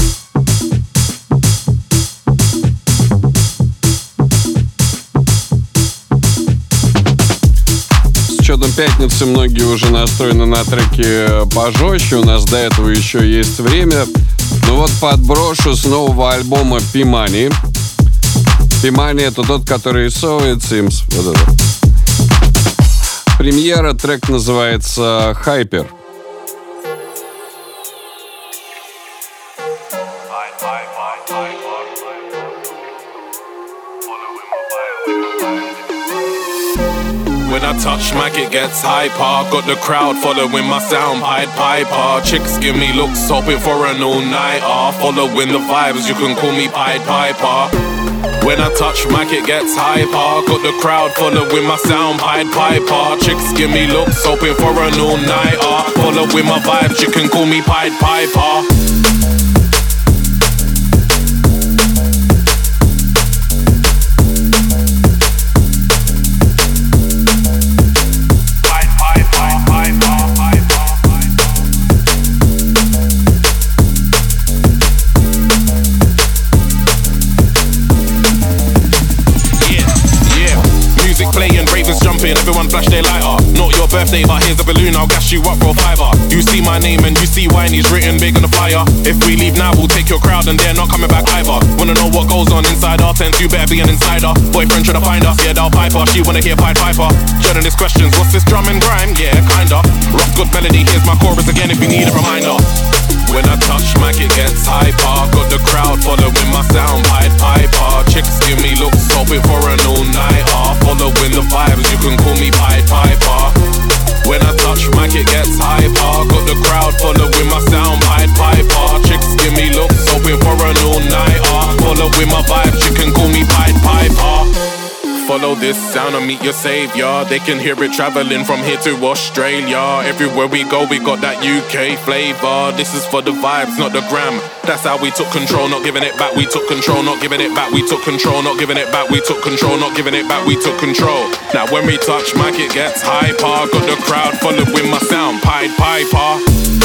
S7: С учетом пятницы многие уже настроены на треки пожестче. У нас до этого еще есть время. Ну вот подброшу с нового альбома P-Money. P-Money — это тот, который So It Seems. Вот это. Премьера, трек называется Hyper.
S1: When I touch mic, it gets hyper. Got the crowd following my sound, Pied Piper. Chicks give me looks, hoping for an all-nighter. Following the vibes, you can call me Pied Piper. When I touch mic, it gets hyper. Got the crowd following my sound, Pied Piper. Chicks give me looks, hoping for an all-nighter. Following my vibes, you can call me Pied Piper. Everyone flash their lighter. Not your birthday, but here's a balloon, I'll gas you up, roll fiver. You see my name and you see Winey's written big on the flyer. If we leave now, we'll take your crowd and they're not coming back either. Wanna know what goes on inside our tent, you better be an insider. Boyfriend trying to find us, yeah, they'll pipe her. She wanna hear Pied Piper. Journalist questions, what's this drum and grime? Yeah, kinda. Rough good melody, here's my chorus again if you need a reminder. When I touch mic, it gets hyper. Got the crowd following my sound, Pied Piper. Chicks give me looks, hoping for an all-nighter. Following the vibes, you can call me Pied Piper. When I touch mic, it gets hyper. Got the crowd following my sound, Pied Piper. Chicks give me looks, hoping for an all-nighter. Following my vibes, you can call me Pied Piper. Follow this sound and meet your savior. They can hear it traveling from here to Australia. Everywhere we go, we got that UK flavor. This is for the vibes, not the gram. That's how we took control, not giving it back. We took control, not giving it back. We took control, not giving it back. We took control, not giving it back. We took control. Now when we touch mic, it gets hyper. Got the crowd following my sound, Pied Piper.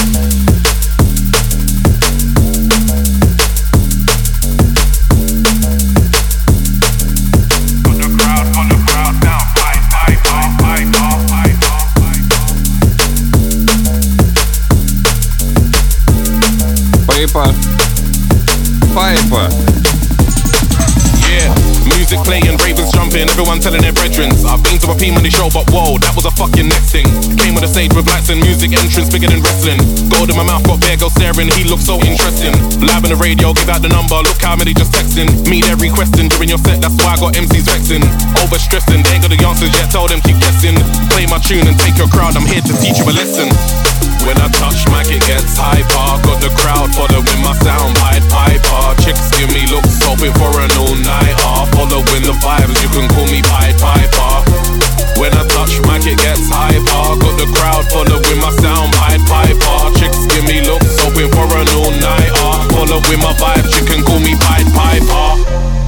S7: Piper.
S1: Yeah, music playing, ravens jumping, everyone telling their brethren. I've been to a P-Money show, but whoa, that was a fucking next thing. Came with a stage with lights and music entrance bigger than wrestling. Gold in my mouth, got bear girl staring, he looks so interesting. Live on the radio, give out the number, look how many just texting. Me they're requesting during your set, that's why I got MCs vexing. Overstressing, they ain't got the answers yet, tell them keep guessing. Play my tune and take your crowd, I'm here to teach you a lesson. When I touch mic, it gets hyper. Got the crowd following my sound, Pied Piper. Chicks give me looks, hoping for an all-nighter. Following the vibes, you can call me Pied Piper. When I touch mic, it gets hyper. Got the crowd following my sound, Pied Piper. Chicks give me looks, hoping for an all-nighter. Following my vibes, you can call me Pied Piper.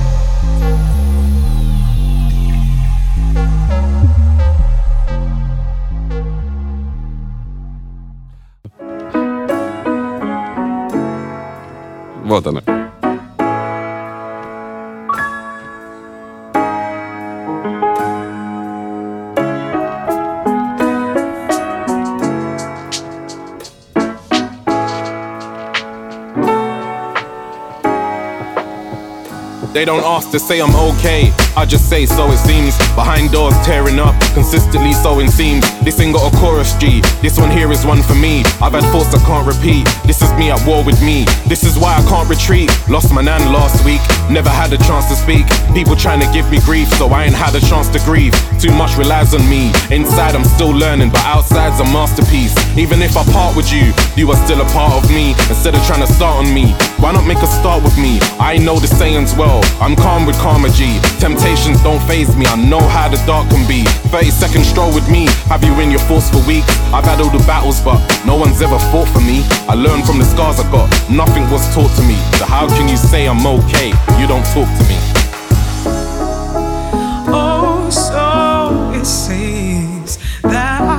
S7: Вот она.
S1: They don't ask to say I'm okay, I just say so it seems. Behind doors tearing up, consistently sewing seams. This ain't got a chorus G, this one here is one for me. I've had thoughts I can't repeat, this is me at war with me. This is why I can't retreat, lost my nan last week. Never had a chance to speak, people trying to give me grief, so I ain't had a chance to grieve. Too much relies on me, inside I'm still learning, but outside's a masterpiece. Even if I part with you, you are still a part of me. Instead of trying to start on me, why not make a start with me? I know the sayings well, I'm calm with karma G. Temptations don't faze me, I know how the dark can be. 30-second stroll with me, have you in your thoughts for weeks. I've had all the battles but no one's ever fought for me. I learned from the scars I got, nothing was taught to me. So how can you say I'm okay, you don't talk to me?
S6: Oh, so it seems that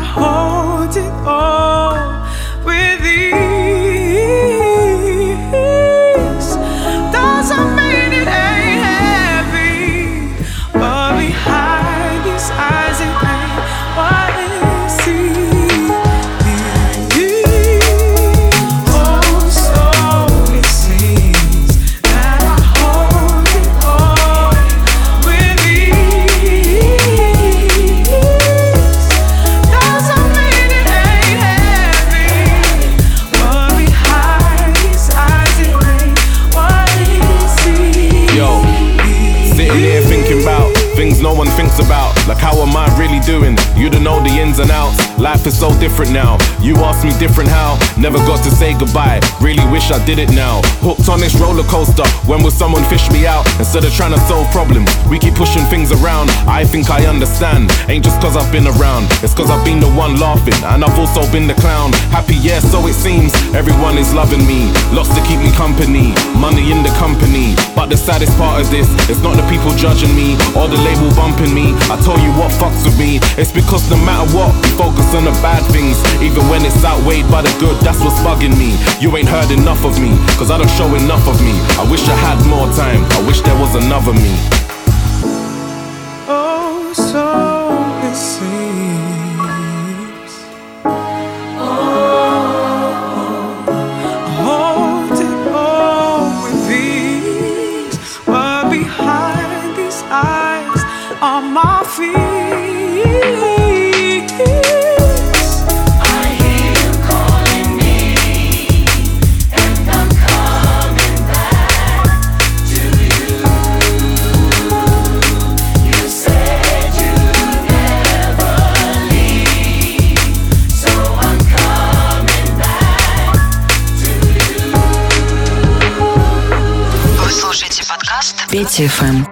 S1: about things no one thinks about. Like how am I really doing? You don't know the ins and outs. Life is so different now. You asked me different how. Never got to say goodbye. Really wish I did it now. Hooked on this roller coaster. When will someone fish me out? Instead of trying to solve problems, we keep pushing things around. I think I understand. Ain't just cause I've been around. It's cause I've been the one laughing, and I've also been the clown. Happy, yeah, so it seems. Everyone is loving me. Lots to keep me company. Money in the company. But the saddest part of this, it's not the people judging me or the label bumping me. I tell you what fucks with me. It's because no matter what, we focus on the bad things. Even when it's outweighed by the good, that's what's bugging me. You ain't heard enough of me, cause I don't show enough of me. I wish I had more time. I wish there was another me.
S15: Oh, so it seems. On my feet, I hear you calling me, and I'm coming back to you. You said you'd never leave, so I'm coming back to you.
S3: Вы слушаете подкаст Петя ФМ.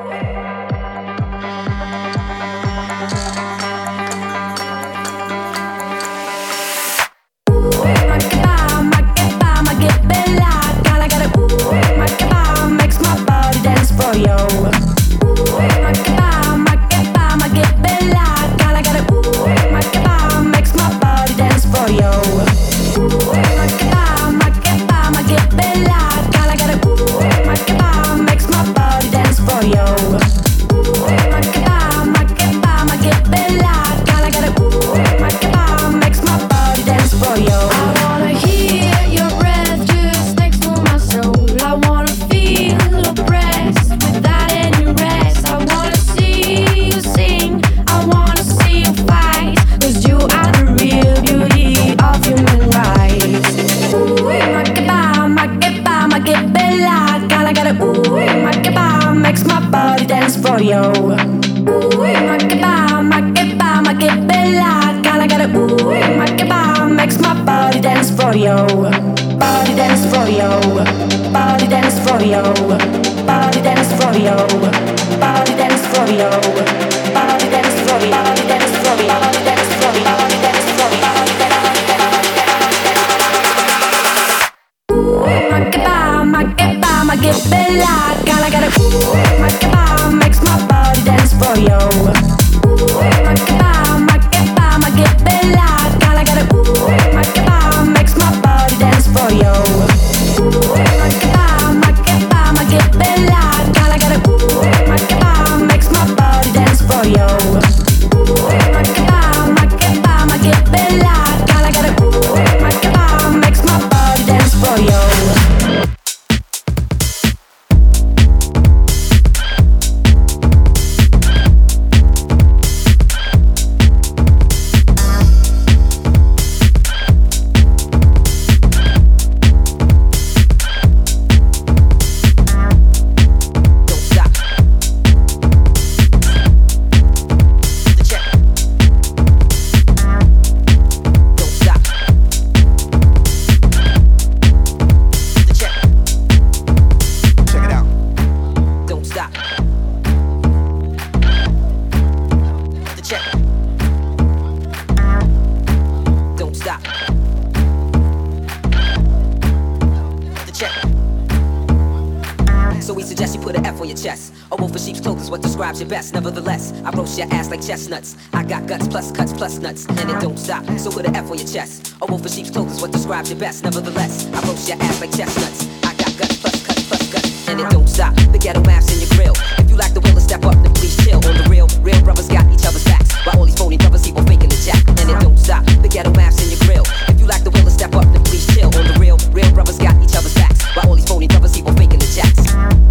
S6: Nevertheless, I roast your ass like chestnuts. I got guts plus cuts plus nuts, and it don't stop. So put an F on your chest. A wolf in sheep's clothes is what describes your best. Nevertheless, I roast your ass like chestnuts. I got guts plus cuts plus guts, and it don't stop. The ghetto maps in your grill. If you like the will to step up, then please chill. On the real brothers got each other's backs. While all these phony brothers keep on faking the jack, and it don't stop. The ghetto maps in your grill. If you like the will to step up, then please chill. On the real brothers got each other's backs. While all these phony brothers keep on faking the jacks.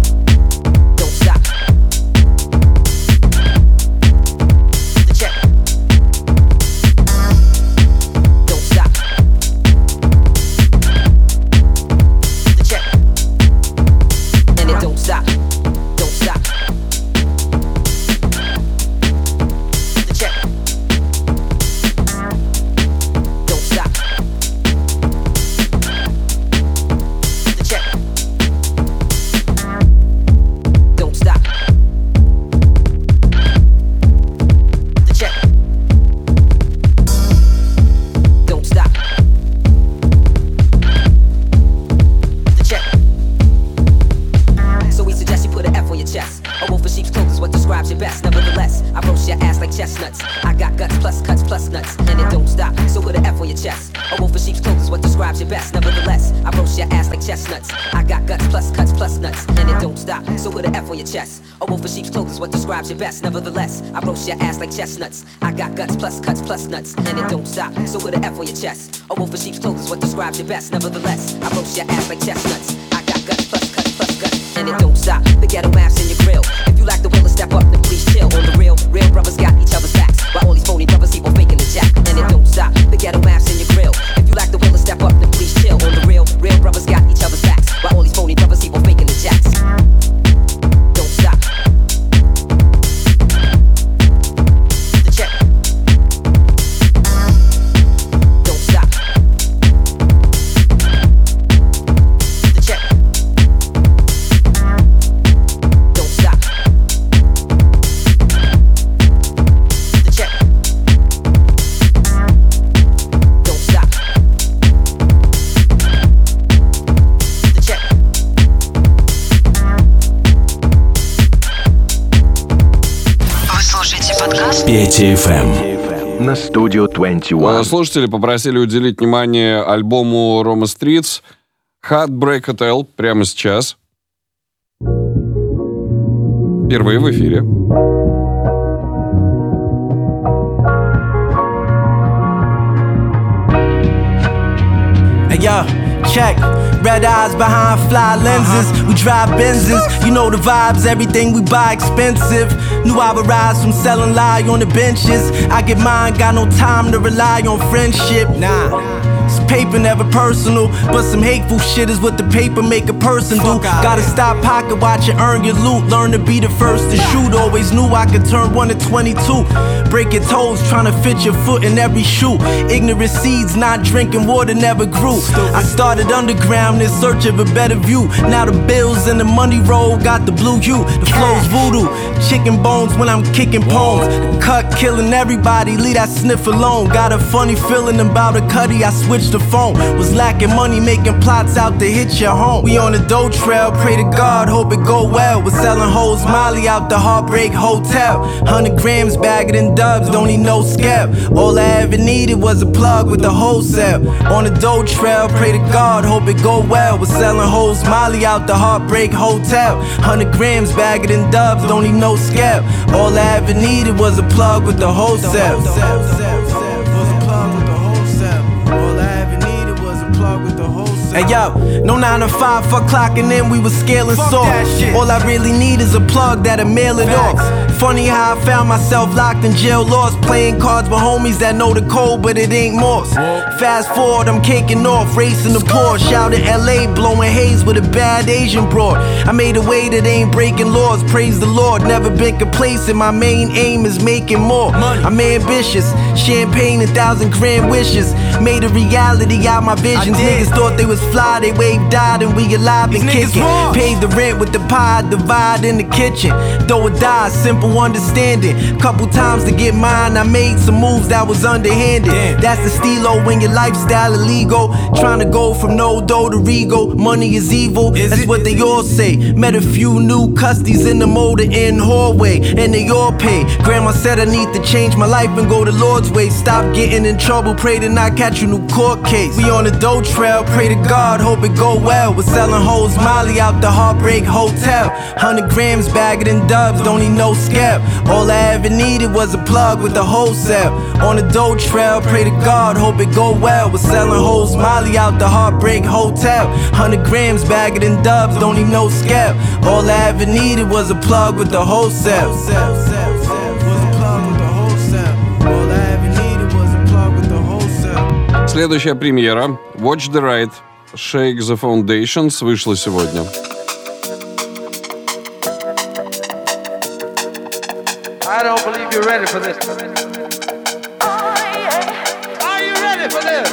S6: Don't stop. is what describes your best. Nevertheless, I roast your ass like chestnuts. I got guts plus cuts plus nuts, and it don't stop. So put an F on your chest. A wolf in sheep's clothes is what describes your best. Nevertheless, I roast your ass like chestnuts. I got guts plus cuts plus nuts, and it don't stop. So put an F on your chest. A wolf in sheep's clothes is what describes your best. Nevertheless, I roast your ass like chestnuts. I got guts plus cuts plus nuts, and it don't stop. So put an F on your chest. A wolf in sheep's clothes is what describes your best. Nevertheless, I roast your ass like chestnuts. I got guts plus cuts plus guts, and it don't stop. The ghetto maps in your grill. If you like the will to step up, then please chill. On the real brothers got each other's backs. While all these phony brothers keep on faking the jack, and it don't stop. The ghetto maps in your grill. If you like the will to step up, then please chill. On the real brothers got each other's backs. While all these phony brothers keep on faking the jacks. Don't stop. The check. Don't stop. The check. Don't stop. The check. Don't stop. The check.
S3: Вы слушаете подкаст
S2: Петя FM на Studio 21.
S7: Слушатели попросили уделить внимание альбому Roma Streets Heartbreak Hotel прямо сейчас. Впервые в эфире.
S11: Hey yo, check. Red eyes behind fly lenses. We drive Benzes. You know the vibes, everything we buy expensive. Knew I would rise from selling lie on the benches. I get mine, got no time to rely on friendship. Nah. It's paper, never personal, but some hateful shit is what the paper make a person do. Gotta stop pocket watching, earn your loot. Learn to be the first to shoot. Always knew I could turn 1 to 22. Break your toes, trying to fit your foot in every shoe. Ignorant seeds, not drinking water, never grew. I started underground in search of a better view. Now the bills and the money roll got the blue hue. The flow's voodoo, chicken bones when I'm kicking poems. The cut killing everybody, leave that sniff alone. Got a funny feeling about a cutty, I switched the phone. Was lacking money, making plots out to hit your home. We on the dough trail, pray to God, hope it go well. We're selling hoes Molly out the Heartbreak Hotel. 100 grams bagged in dubs, don't need no scab. All I ever needed was a plug with the wholesale. On the dough trail, pray to God, hope it go well. We're selling hoes Molly out the Heartbreak Hotel. 100 grams bagged in dubs, don't need no scab. All I ever needed was a plug with the wholesale. Hey yo, no 9 to 5, fuck clocking in, we was scaling soft. All I really need is a plug that'll mail it off. Funny how I found myself locked in jail, lost, playing cards with homies that know the code, but it ain't Morse. Fast forward, I'm caking off, racing the Porsche, out in LA, blowing haze with a bad Asian broad. I made a way that ain't breaking laws, praise the Lord, never been complacent, my main aim is making more. I'm ambitious, champagne and 1,000 grand wishes, made a reality out my visions. Niggas thought they was fly, they wave died and we alive and kicking. Paid the rent with the pie, divide in the kitchen. Though it died, simple understanding. Couple times to get mine, I made some moves that was underhanded. That's the stilo when your lifestyle illegal. Trying to go from no dough to regal. Money is evil, that's what they all say. Met a few new custies in the motor in hallway, and they all pay. Grandma said I need to change my life and go the Lord's way. Stop getting in trouble, pray to not catch a new court case. We on the dough trail, pray to God, hope it go well. We're selling hoes Molly out the Heartbreak Hotel. 100 grams bagged in dubs, don't need no scab. All I ever needed was a plug with the wholesale. On the dough trail, pray to God, hope it go well. We're selling hoes Molly out the Heartbreak Hotel. 100 grams bagged in dubs, don't need no scab. All I ever needed was a plug with the wholesale.
S7: Следующая премьера Watch the Ride Shake the Foundations вышла сегодня.
S8: I don't believe you're ready for this. Are you ready for this?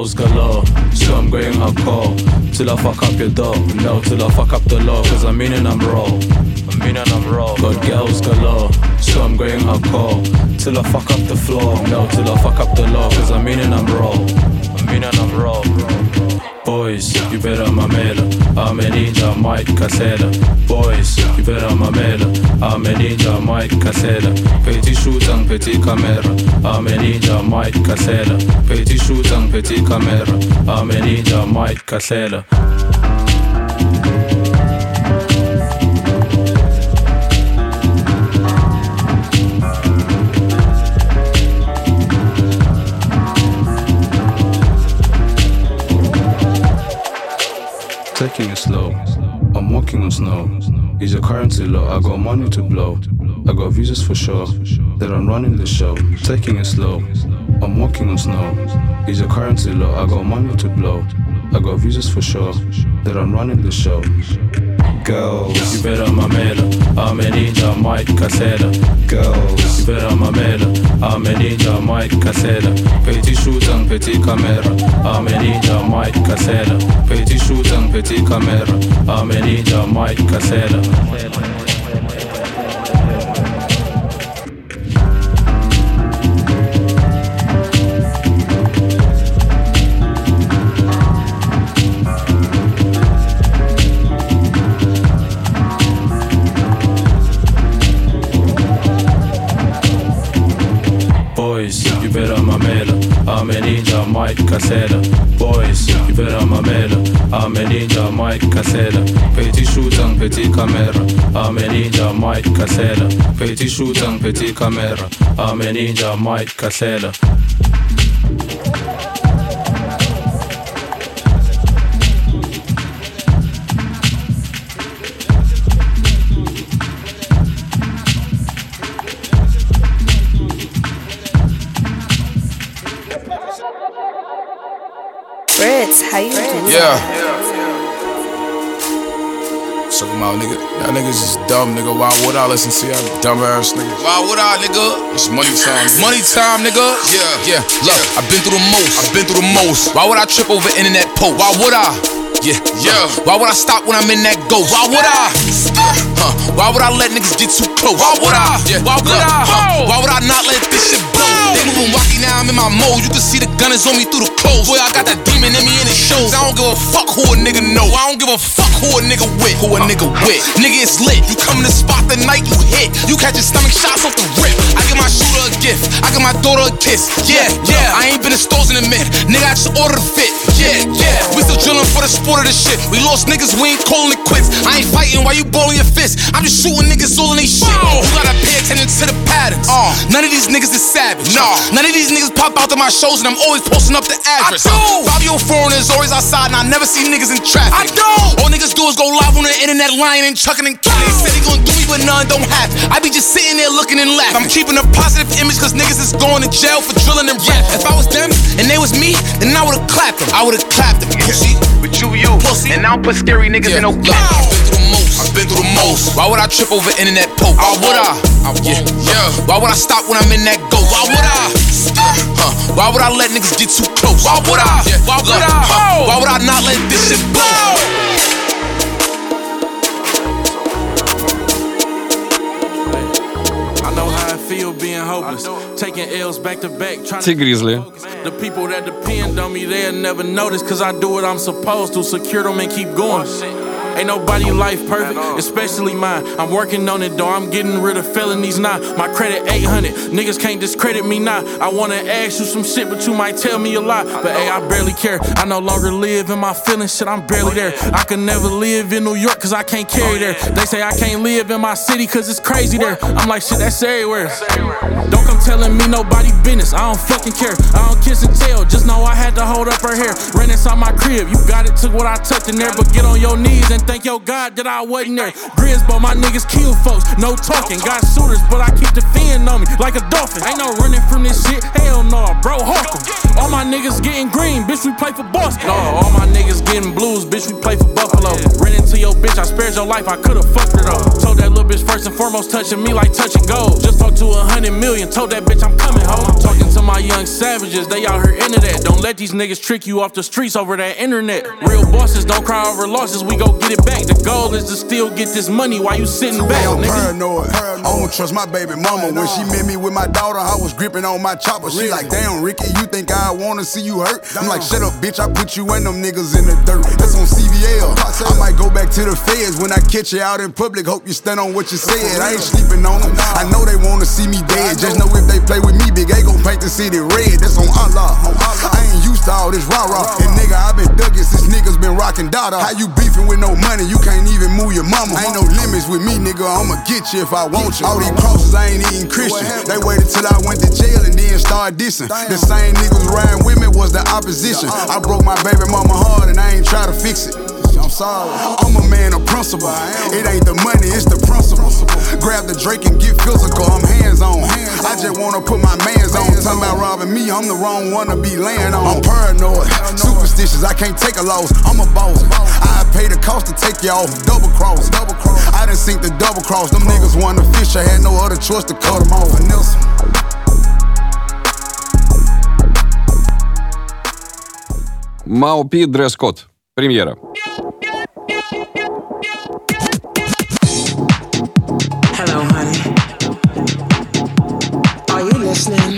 S10: girls galore, so I'm going hardcore till I fuck up your door. No, till I fuck up the law, cause I'm meaning I'm raw. Got girls galore, so I'm going hardcore till I fuck up the floor. No, till I fuck up the law, cause I'm meaning I'm raw. Boys, you better mamela, I'm a ninja Mike Casella. Boys, you better mamela, I'm a ninja Mike Casella. Petit shoot and petit camera, I'm a ninja Mike Casella. Petit shoot and petit camera, I'm a ninja Mike Casella. Taking it slow, I'm walking on snow. Is your currency low? I got money to blow. I got visas for sure, that I'm running the show. Taking it slow, I'm walking on snow. Is your currency low? I got money to blow. I got visas for sure, that I'm running the show. Girls, you better mamela, I'm a ninja Mike Casella. Girls, you better mamela, I'm a ninja Mike Casella. Petit shoot and petit camera, I'm a ninja Mike Casella. Petit shoot and petit camera, I'm a ninja Mike Casella. Boys, you better mamela, I'm a ninja Mike Casella. Boys, you better mamela, I'm a ninja Mike Casella. Petit shoot and petit camera, I'm a ninja Mike Casella. Petit shoot and petit camera, I'm a ninja Mike Casella.
S12: Fritz, how you doing?
S13: Yeah. Suck them out, nigga. Y'all niggas is dumb, nigga. Why would I listen to y'all dumb ass niggas? Why would I, nigga? It's money time. Money time, nigga. Yeah. Look, I've been through the most. Why would I trip over internet posts? Why would I? Yeah. Why would I stop when I'm in that ghost? Why would I? Why would I let niggas get too close? Why would I? Why would I? Why would I not let this shit blow? They moving wacky now, I'm in my mode. You can see the gun is on me through the clothes. Boy, I got that demon in me and it shows. I don't give a fuck who a nigga know. I don't give a fuck who a nigga with. Nigga, it's lit. You come in the spot the night you hit. You catching stomach shots off the rip. I give my shooter a gift. I give my daughter a kiss. Yeah. I ain't been in stores in a minute. Nigga, I just ordered a fit. Yeah. We still drilling for the sport of this shit. We lost niggas, we ain't calling it quits. I ain't fighting while you balling your fist. I'm just shooting niggas all in they shit. You gotta pay attention to the patterns. None of these niggas is savage. None of these niggas pop out to my shows and I'm always posting up the address. 5-year-old foreigners always outside and I never see niggas in traffic. I don't. All niggas do is go live on the internet, lying and chucking and killing. They said they gon' do me, but none don't happen. I be just sitting there looking and laughing. I'm keeping a positive image cause niggas is going to jail for drilling and rap. If I was them and they was me, then I would've clapped them. Pussy. But you pussy. And I don't put scary niggas in no cap. I've been through the most. Why would I trip over internet posts? Why would I? Yeah. Why would I stop when I'm in that ghost? Why would I? Why would I let niggas get too close? Why would I? Why would I not let this shit blow?
S24: Feel being hopeless, taking L's back to back.
S7: Тигризли.
S24: The people that depend on me, they'll never notice, cause I do what I'm supposed to, secure them and keep going. Ain't nobody life perfect, especially mine. I'm working on it though, I'm getting rid of felonies now. My credit 800, niggas can't discredit me now. I wanna ask you some shit, but you might tell me a lie. But hey, I barely care, I no longer live in my feelings, shit, I'm barely there. I can never live in New York cause I can't carry there. They say I can't live in my city cause it's crazy there. I'm like, shit, that's everywhere. Don't come telling me nobody business, I don't fucking care. I don't kiss and tell, just know I had to hold up her hair. Ran inside my crib, you got it, took what I tucked in there. But get on your knees and and thank your God that I wasn't there. Grisbo, my niggas kill folks, no talking. Got shooters, but I keep the fin on me like a dolphin. Ain't no running from this shit, hell no, bro, hawk 'em. All my niggas getting green, bitch, we play for Boston. No, all my niggas getting blues, bitch, we play for Buffalo. Ran into your bitch, I spared your life, I could've fucked her though. Told that little bitch first and foremost, touching me like touching gold. Just talked to 100 million, told that bitch I'm coming home. I'm talking to my young savages, they out here into that. Don't let these niggas trick you off the streets over that internet. Real bosses don't cry over losses, we gon' get it back. The goal is to still get this money while you sitting back,
S14: I'm
S24: nigga.
S14: paranoid. I don't trust my baby mama. When she met me with my daughter, I was gripping on my chopper. She like, damn, Ricky, you think I wanna see you hurt? I'm like, shut up, bitch, I put you and them niggas in the dirt. That's on CVL. I might go back to the feds when I catch you out in public. Hope you stand on what you said. I ain't sleeping on them. I know they wanna see me dead. Just know if they play with me, Big A gon' paint the city red. That's on Allah. I ain't used to all this rah-rah. And nigga, I been ducking since niggas been rocking Dada. How you beefing with no money? You can't even move your mama. Ain't no limits with me, nigga. I'ma get you if I want you. All these crosses, I ain't even Christian. They waited till I went to jail and then started dissing. The same niggas riding with me was the opposition. I broke my baby mama heart and I ain't try to fix it. I'm sorry. I'm a man of principle. It ain't the money, it's the principle. Grab the Drake and get physical. I'm hands on. I just wanna put my mans on. Talking about robbing me, I'm the wrong one to be laying on. I'm paranoid, superstitious. I can't take a loss. I'm a boss. I pay the cost to take you off. Double cross. I done sink the double cross. Them niggas wanted to fish. I had no other choice to cut them off. Vanessa.
S7: Мау-Пи, дресс-код. Премьера.
S16: Hello, honey. Are you listening?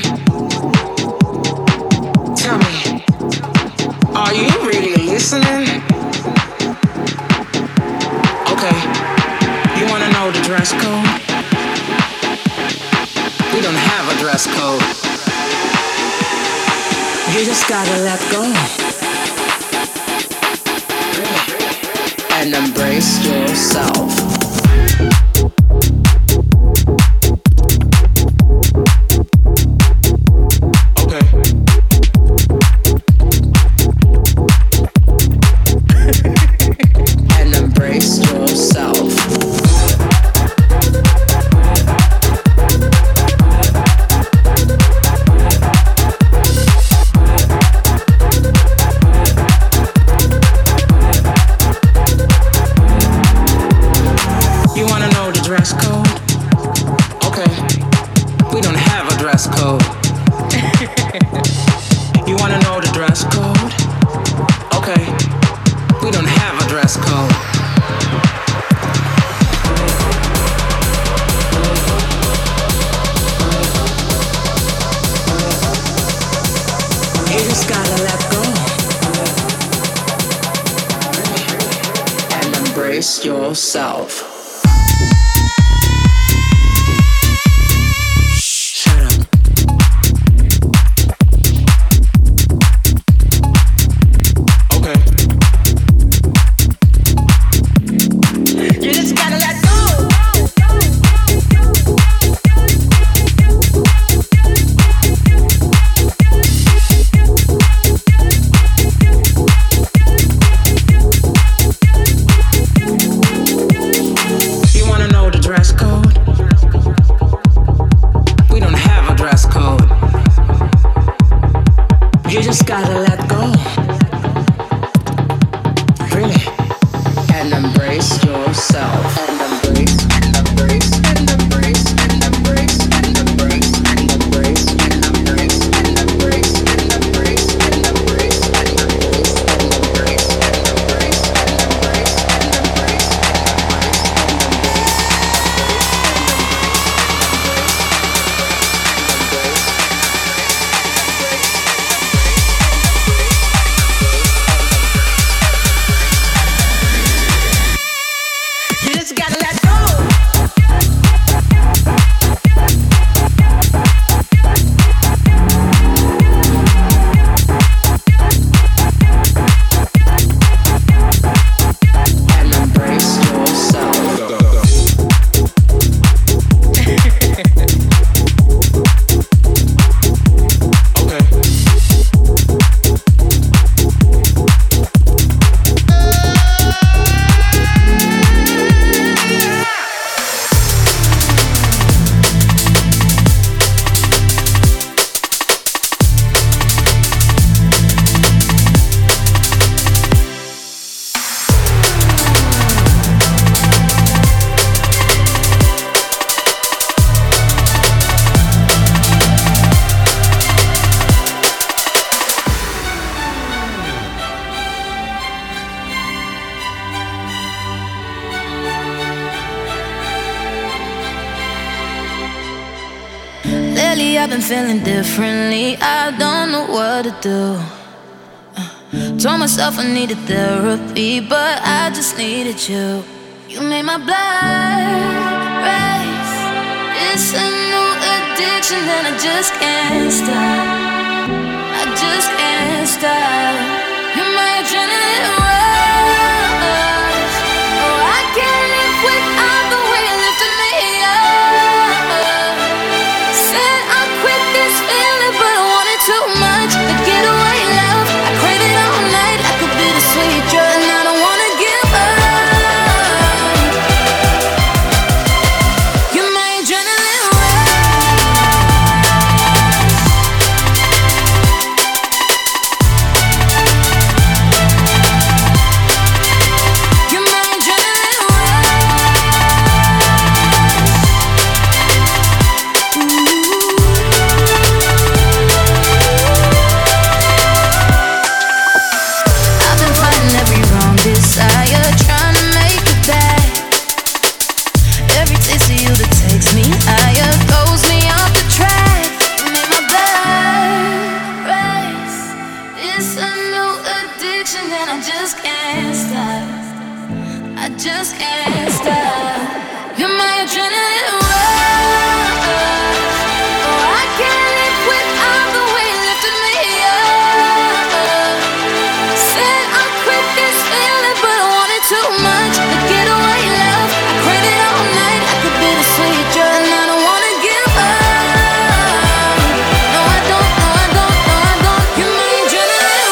S16: Tell me, are you really listening? Okay, you wanna know the dress code? We don't have a dress code. You just gotta let go. And embrace yourself. Yourself. You just gotta let
S15: I've been feeling differently. I don't know what to do. Told myself I needed therapy, but I just needed you. You made my blood race. It's a new addiction and I just can't stop. I just can't stop. You're my adrenaline rush. Oh, I can't live without the way you lifted me up. Said I'll quit this feeling, but I want it too much. The getaway love, I crave it all night. I could be the sweet drug, and I don't wanna give up. You're my adrenaline desire, trying to make it back. Every taste of you that takes me higher throws me off the track. You make my blood race. It's a new addiction and I just can't stop. I just can't stop. You're my adrenaline rush. Oh, I can't live without the way you lifted me up. Said I'll quit this feeling, but I want it too much. The getaway love, I crave it all night. I could be the sweet drug, and I don't wanna give up. No, I don't, no, I don't, no, I don't. You're my adrenaline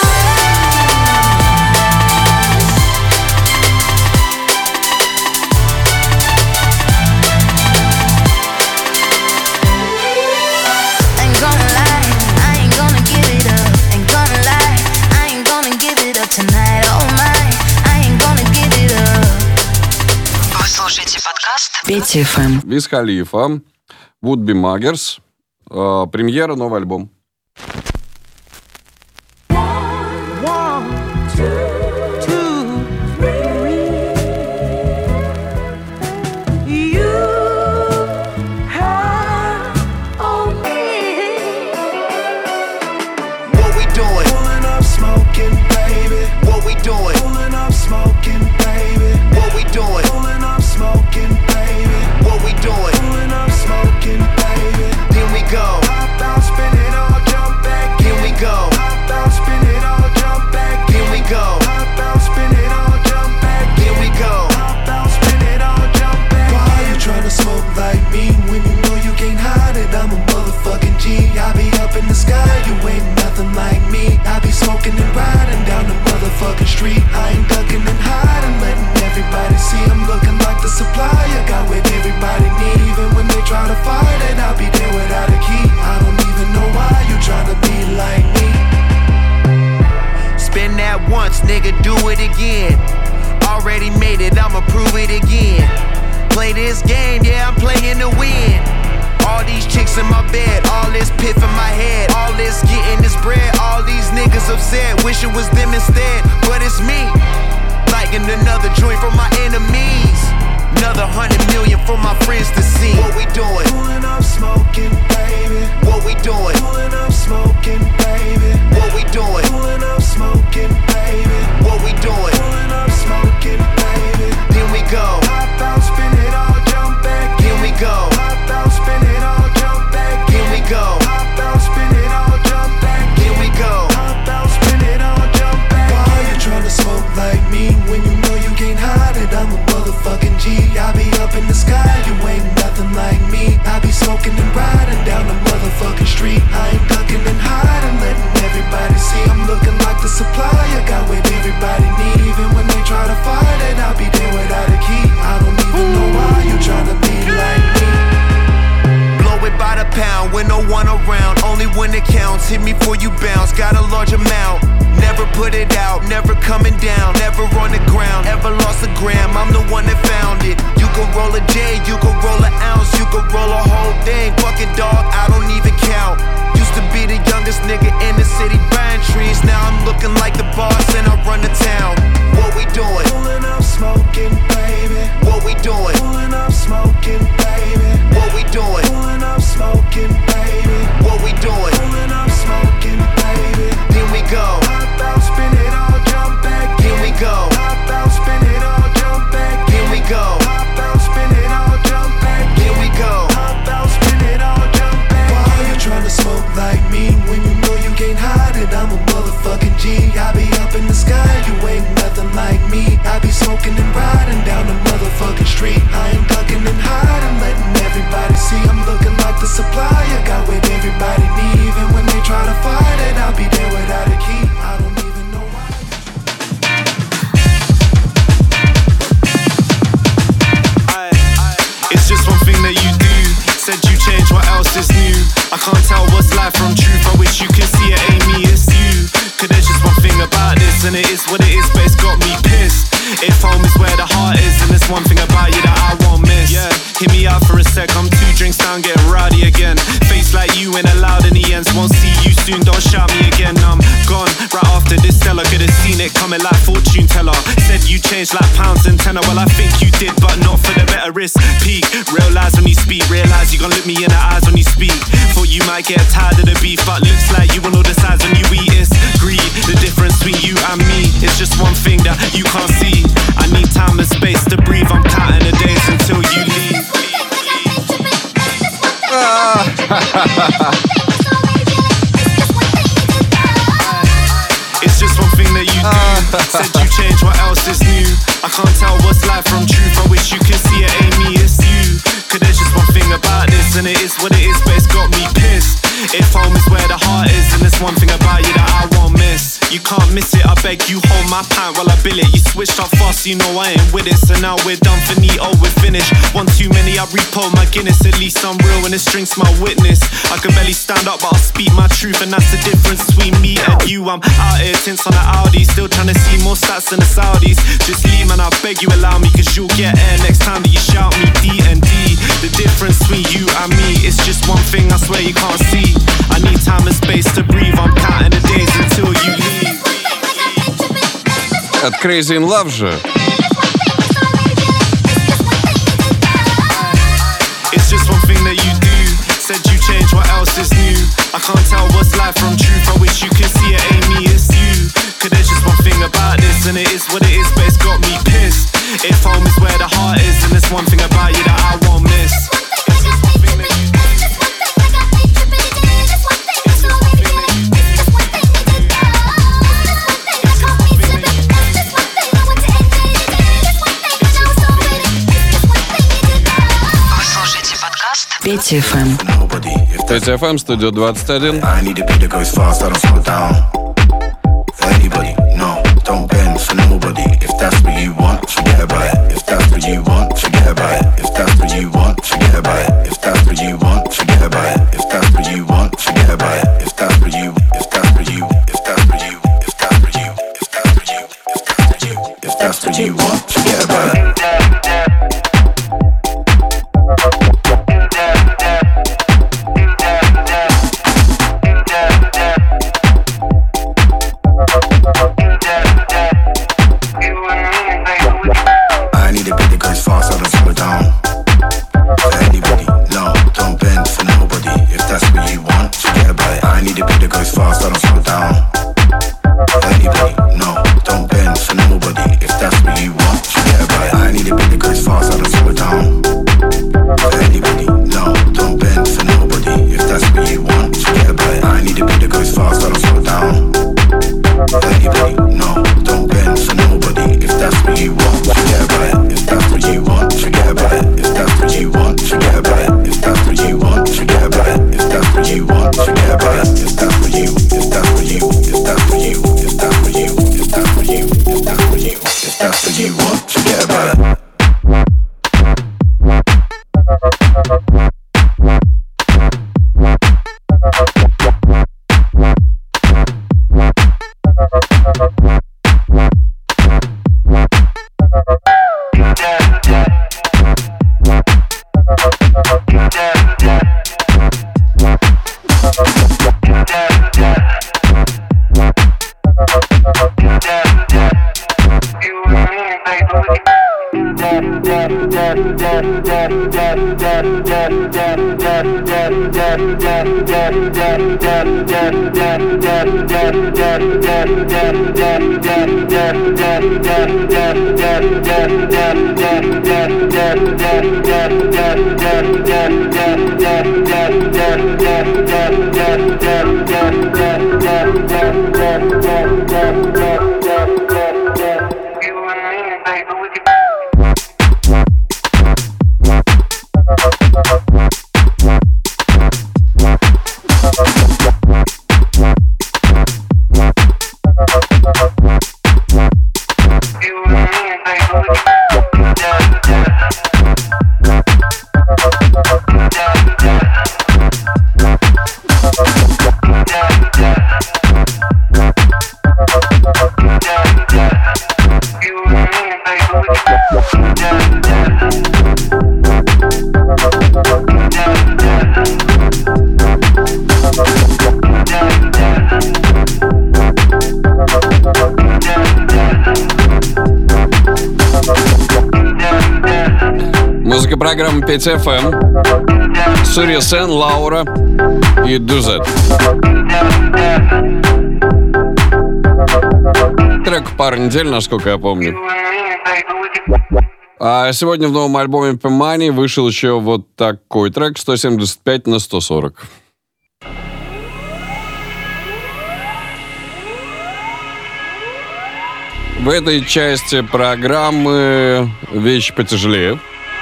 S15: Ain't gonna lie, I ain't gonna give it up. Ain't gonna lie, I ain't gonna give it up tonight. Oh my, I ain't gonna give it up.
S3: Вы слушаете подкаст
S12: Петя ФМ.
S7: Wiz Khalifa, Would Be Muggers, премьера, новый альбом.
S11: What we doing? Pulling up smoking, baby. What we doing? Pulling up smoking, baby. What we doing? Pulling up smoking, baby. What we doing? Pulling up smoking, baby. Here we go. Hop out, spin it all, jump back. Here we go. Hop out, spin it all, jump back. Here we go. Hop out, spin it all, jump back. Here we go. Hop out, spin it all, jump back. Why you tryna smoke like me when you know you can't hide it? I'm a motherfucking G. I be up in the sky, you ain't nothing like me. I be smoking and riding down the motherfucking street. I ain't ducking and hiding, letting everybody see I'm looking like the supplier. Got what everybody need, even when they try to fight it. I'll be there without a key. I don't even know why you tryna be like me. Spin that once, nigga, do it again. Already made it, I'ma prove it again. Play this game, yeah, I'm playing to win. All these chicks in my bed, all this piff in my head, all this getting this bread, all these niggas upset, wish it was them instead, but it's me. Lighting another joint for my enemies, another 100 million for my friends to see. What we doing? Pulling up smoking, baby. What we doing? Pulling up smoking, baby. What we doing? Pulling up smoking, baby. What we doing? Pulling up smoking, baby. Here we go. Hop out, spin it all, jump back. Here we go. Hop out, spin it all, jump back. Here we go. Hop out, spin it all, jump back. Here we go. Hop out, spin it all, jump back. Why you tryna smoke like me when you know you can't hide it? I'm a motherfucking G. I be up in the sky, you ain't nothing like me. I be smoking and riding down the motherfucking street. I ain't ducking and hiding, letting everybody see I'm looking like the supplier. Got what everybody need, even when
S17: I can't tell what's life from truth. I wish you could see it ain't me, it's you. Cause there's just one thing about this, and it is what it is, but it's got me pissed. If home is where the heart is, and there's one thing about you that I won't miss. Yeah, hear me out for a sec, I'm 2 drinks down, getting rowdy again. Face like you ain't allowed in the ends, won't see you soon, don't shout me again. I'm gone, right after this seller, could've seen it coming like fortune teller. Said you changed like pounds and tenner, well I think you did, but not for the better risk. Peak, realize when you speak, realize you gon' look me in the eyes when you speak. Thought you might get tired of the beef, but looks like you on all the sides when you eat. It's greed, the difference between you and me. It's just one thing that you can't see. I need time and space to breathe, I'm counting the days until you leave. It's just one thing that you do. Said you changed, what else is new? I can't tell what's life from truth. I wish you could see it ain't me, it's you. Cause there's just one thing about this, and it is what it is, but it's got me pissed. If home is where the heart is, and there's one thing about you that I won't miss. You can't miss it, I beg you hold my pint while I bill it. You switched up fast, you know I ain't with it. So now we're done for Neato, we're finished. One too many, I repo my Guinness. At least I'm real and this drink's my witness. I can barely stand up, but I'll speak my truth, and that's the difference between me and you. I'm out here, tints on the Audi, still trying to see more stats than the Saudis. Just leave, man, I beg you allow me, cause you'll get air next time that you shout me D&D. The difference between you and me, it's just one thing I swear you can't see. I need time and space to breathe, I'm counting the days until you leave.
S7: От Crazy in Love же.
S17: It's just one thing that you do. Said you changed, what else is new? I can't tell what's life from truth. I wish you could see it ain't me, it's you. Cause there's just one thing about this, and it is what it is, but it's got me pissed. If home is where the heart is, and there's one thing about you that I won't miss. It's just one thing that you do.
S3: Петя FM.
S7: Петя FM, студия 21.
S18: I need a beat that goes fast, I don't slow down. For anybody, no, don't bend for nobody. If that's what you want, forget about it. If that's what you want, forget about it. If that's what you want, forget about it. If that's what you want, forget about it. If that's what you want, forget about it. If that's what you, if that's what you, if that's what you, if that's what you, if that's what you, if that's what you, if that's what you want, forget about it.
S7: Музыка программы 5FM. Сурья Сен, Лаура и Дузет. Трек пару недель, насколько я помню. А сегодня в новом альбоме P-Money вышел еще вот такой трек 175/140. В этой части программы вещи потяжелее.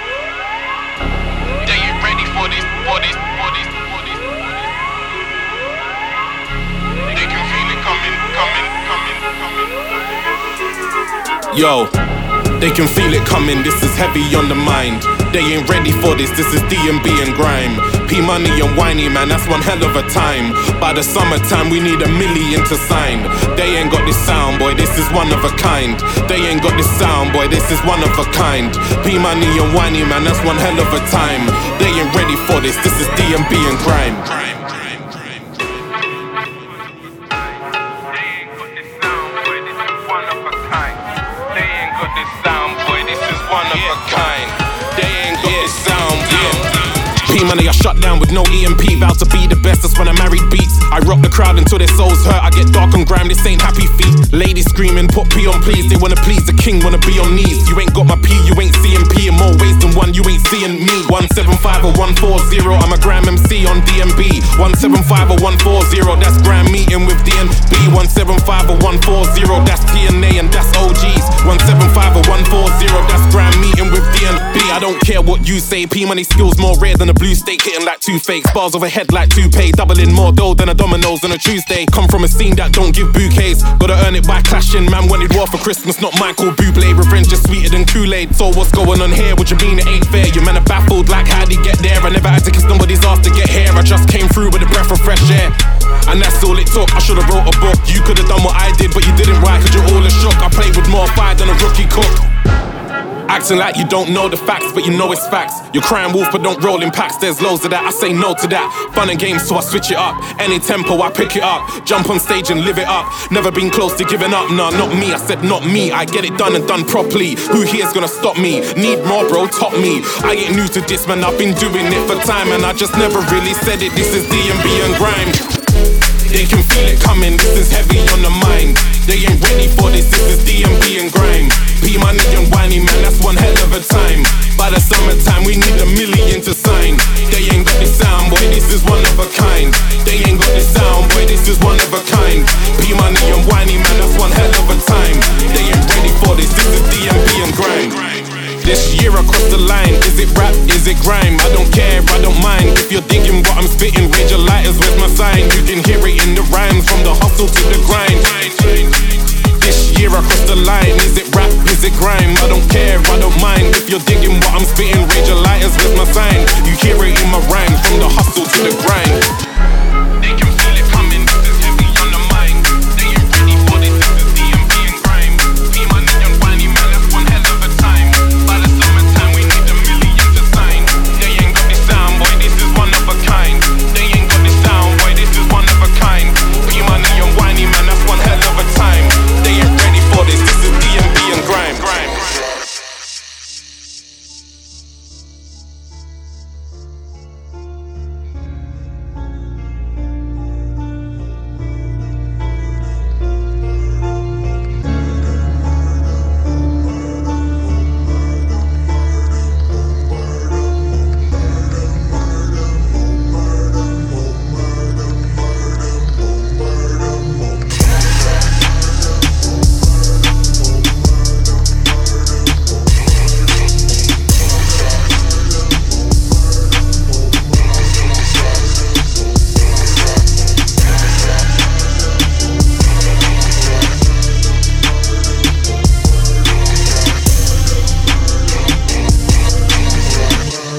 S1: Yo, they can feel it coming, this is heavy on the mind. They ain't ready for this is D&B and grime. P-Money and Whiny, man, that's one hell of a time. By the summertime, we need 1 million to sign. They ain't got this sound, boy, this is one of a kind. They ain't got this sound, boy, this is one of a kind. P-Money and Whiny, man, that's one hell of a time. They ain't ready for this is D&B and grime. P-Money, I shut down with no EMP. Vow to be the best, that's when I married beats. I rock the crowd until their souls hurt. I get dark and grime, this ain't happy feet. Ladies screaming, put P on please. They wanna please the king, wanna be on knees. You ain't got my P, you ain't CMP. In more ways than one, you ain't seeing me. 175 or 140, I'm a gram MC on DMB. 175 or 140, that's gram meeting with DNB. 175 or 140, that's TNA and that's OGs. 175 or 140, that's gram meeting with DNB. I don't care what you say, P-Money skills more rare than a blue steak, hitting like two fakes. Bars overhead like toupee, doubling more dough than a Domino's on a Tuesday. Come from a scene that don't give bouquets, gotta earn it by clashing. Man wanted war for Christmas, not Michael Bublé. Revenge is sweeter than Kool-Aid. So what's going on here? What you mean it ain't fair? You men are baffled like how'd he get there? I never had to kiss nobody's ass to get here. I just came through with a breath of fresh air, and that's all it took. I should've wrote a book. You could've done what I did, but you didn't. Why? Cause you're all a shook. I played with more fire than a rookie cook. Acting like you don't know the facts, but you know it's facts. You're crying wolf, but don't roll in packs. There's loads of that, I say no to that. Fun and games, so I switch it up. Any tempo, I pick it up. Jump on stage and live it up. Never been close to giving up, nah, not me. I said not me, I get it done and done properly. Who here's gonna stop me? Need more, bro, top me. I ain't new to this, man, I've been doing it for time, and I just never really said it. This is D&B and grime. They can feel it coming, this is heavy on the mind. They ain't ready for this is D&B and grime. P-Money and Whiny, man, that's one hell of a time. By the summertime, we need 1 million to sign. They ain't got this sound, boy, this is one of a kind. They ain't got this sound, boy, this is one of a kind. P-Money and Whiny, man, that's one hell of a time. They ain't ready for this is D&B and grime. This year across the line, is it rap, is it grime? I don't care, I don't mind. If you're digging what I'm spitting, raise your lighters, where's my sign? You can hear it in the rhymes, from the hustle to the grind. This year across the line, is it rap, is it grime? I don't care, I don't mind. If you're digging what I'm spitting, raise your lighters, where's my sign? You hear it in my rhymes, from the hustle to the grind. They can feel it coming, this is heavy on the mind. They ain't ready for this is D&B and grime. P-Money and Whiny, man, that's one hell of a time. By the summertime, we need 1 million to sign. They ain't got this sound, boy, this is one of a kind. They ain't got this sound, boy, this is one of a kind. P-Money and Whiny, man, that's one hell of a time. They ain't ready for this is D&B and grime.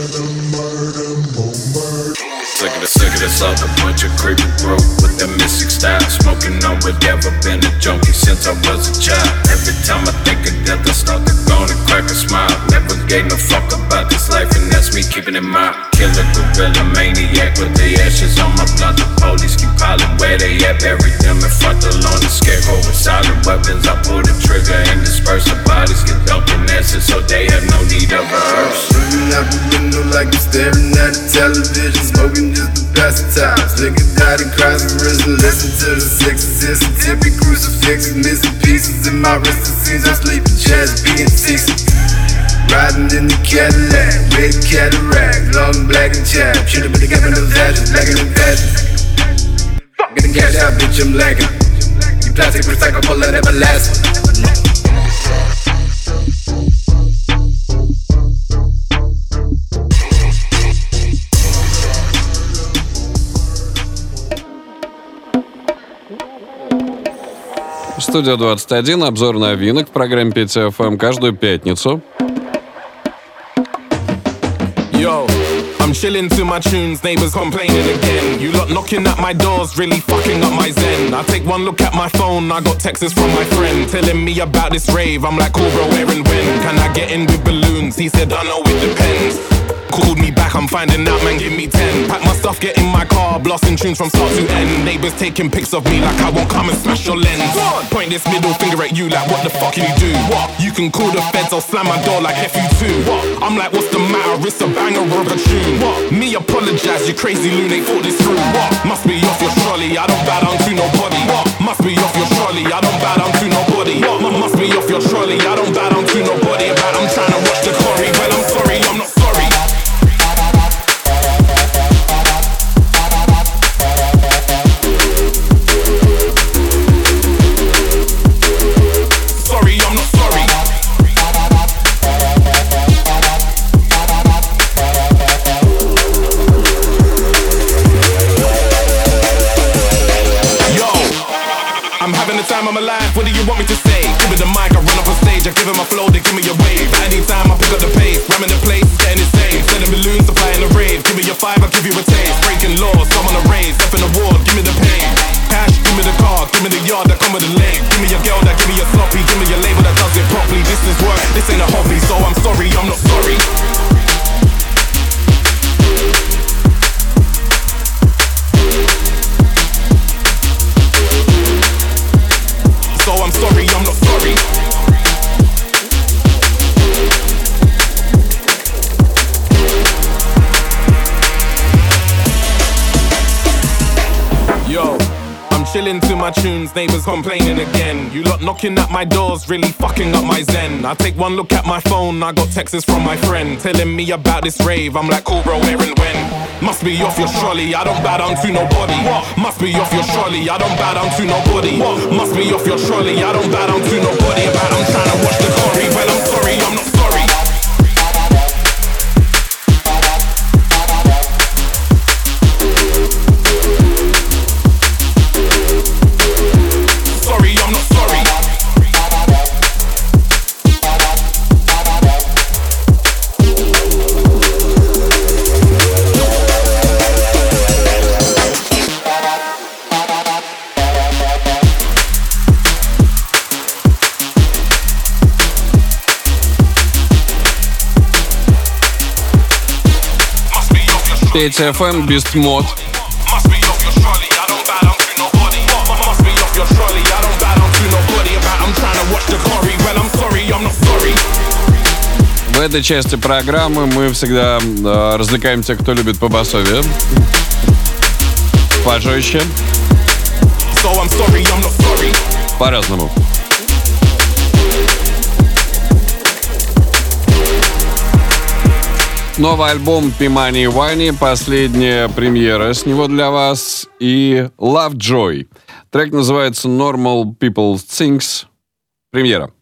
S4: Sick of this up, a bunch of creeping broke with that missing style. Smoking on whatever, been a junkie since I was a child. Every time I think of death, I start to go and crack a smile. Never gave no fuck about this life, and that's me keeping it mild. Killer gorilla maniac with the ashes on my blunt. The police keep piling where they at. Bury them in front of the lawn. The scarecrow with silent weapons. I pull the trigger and disperse the bodies. Get dumped in acid so they have no need of a hearse.
S19: Shooting out the window like I'm staring at the television. Smoking just to pass the time. Nigga died and cries and risen. Listen to the Exorcist and tippy crucifixes. Missing pieces in my wrist. It seems I'm sleeping chest being 60. Riding in the Cadillac, red cataract, long black and chapped. Should've been together in those ashes, lacking in fashion. Getting cash out, bitch, I'm lacking. You plastic recyclable and everlasting.
S7: Студия 21, обзор новинок в программе Петя ФМ каждую пятницу.
S1: Yo, I'm chilling to my tunes, neighbors complaining again. You lot knocking at my doors, really fucking up my zen. I take one look at my phone, I got texts from my friend telling me about this rave. I'm like, cool bro, where and when? Can I get in with balloons? He said, I know it depends. Called me back, I'm finding out, man, give me 10. Pack my stuff, get in my car, blasting tunes from start to end. Neighbors taking pics of me like I won't come and smash your lens. Point this middle finger at you like, what the fuck can you do? What? You can call the feds, I'll slam my door like F you too. What? I'm like, what's the matter? It's a banger of a tune. What? Me apologize, you crazy loon, they thought this through. What? Must be off your trolley, I don't bow down to nobody. What? Must be off your trolley, I don't bow down to nobody. What? Must be off your trolley, I don't bow down to nobody. About I'm trying to watch the Corey, well I'm sorry, I'm not sorry. Time I'm alive, what do you want me to say? Give me the mic, I run up on stage, I give him my flow, they give me a wave. Anytime I pick up the pace, ramming the place, getting insane. Selling balloons, supplying the rave. Give me your 5, I'll give you a taste. Breaking laws, I'm on a raise, up in the ward, give me the pain. Cash, give me the car, give me the yard that come with the leg. Give me your girl that give me a sloppy, give me your label that does it properly. This is work, this ain't a hobby, so I'm sorry, I'm not sorry. So I'm sorry, I'm not sorry. Yo, I'm chilling to my tunes, neighbors complaining again. You lot knocking at my doors, really fucking up my zen. I take one look at my phone, I got texts from my friend telling me about this rave. I'm like, cool bro, where and when? Must be off your trolley, I don't bow down to nobody. What? Must be off your trolley, I don't bow down to nobody. What? Must be off your trolley, I don't bow down to nobody. About I'm trying to watch the Corey, well I'm sorry, I'm not sorry. Sorry, I'm not sorry.
S7: Петя ФМ, Beast Mode. В этой части программы мы всегда развлекаем тех, кто любит побасовье. Пожестче. По-разному. Новый альбом Пимани и Вайни, последняя премьера с него для вас, и Lovejoy. Трек называется Normal People Things. Премьера.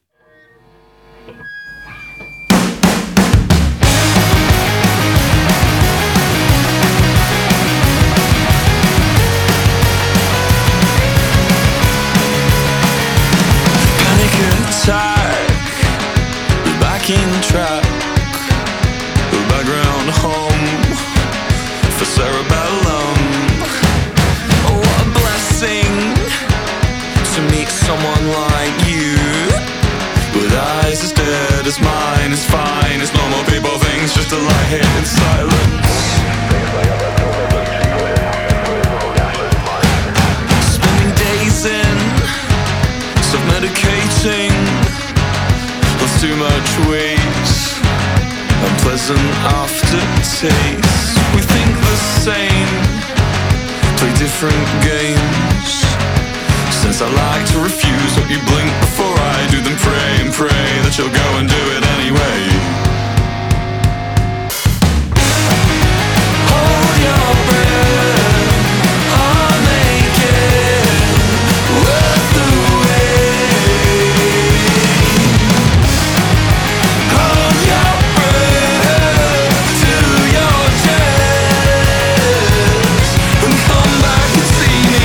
S15: Panic attack, we're back in track. Background home for cerebellum. Oh, what a blessing.
S20: to lie here in silence. Spending days in self-medicating, lost too much weight, unpleasant aftertaste. We think the same, play different games. Since I like to refuse what you blink before I do, then pray and pray that you'll go and do it anyway. Hold your breath, I'll make it worth the wait. Hold your breath to your chest and come back and see me.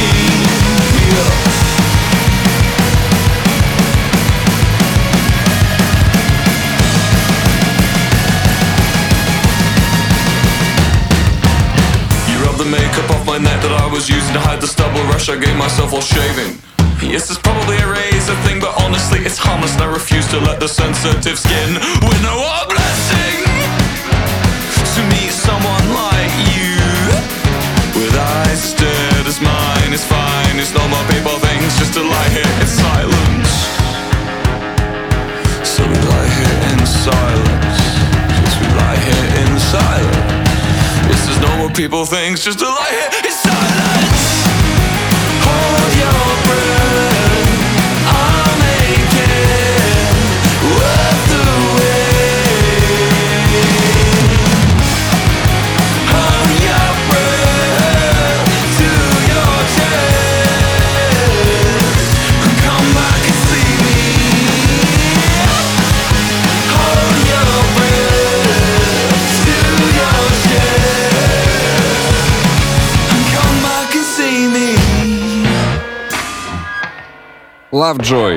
S20: The makeup off my neck that I was using to hide the stubble rush I gave myself while shaving. Yes, it's probably a razor thing, but honestly it's harmless and I refuse to let the sensitive skin win a blessing. To meet someone like you, with eyes as dead as mine, is fine. It's normal people things just to lie here in silence. So we lie here in silence. Yes, we lie here in silence. This is normal people things just to lie here in silence. Hold your breath, I'll make it worth the wait. Hold your breath to your chest and come back and see me. Hold your breath to your chest.
S7: Lovejoy.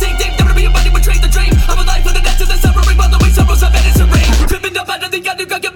S15: Got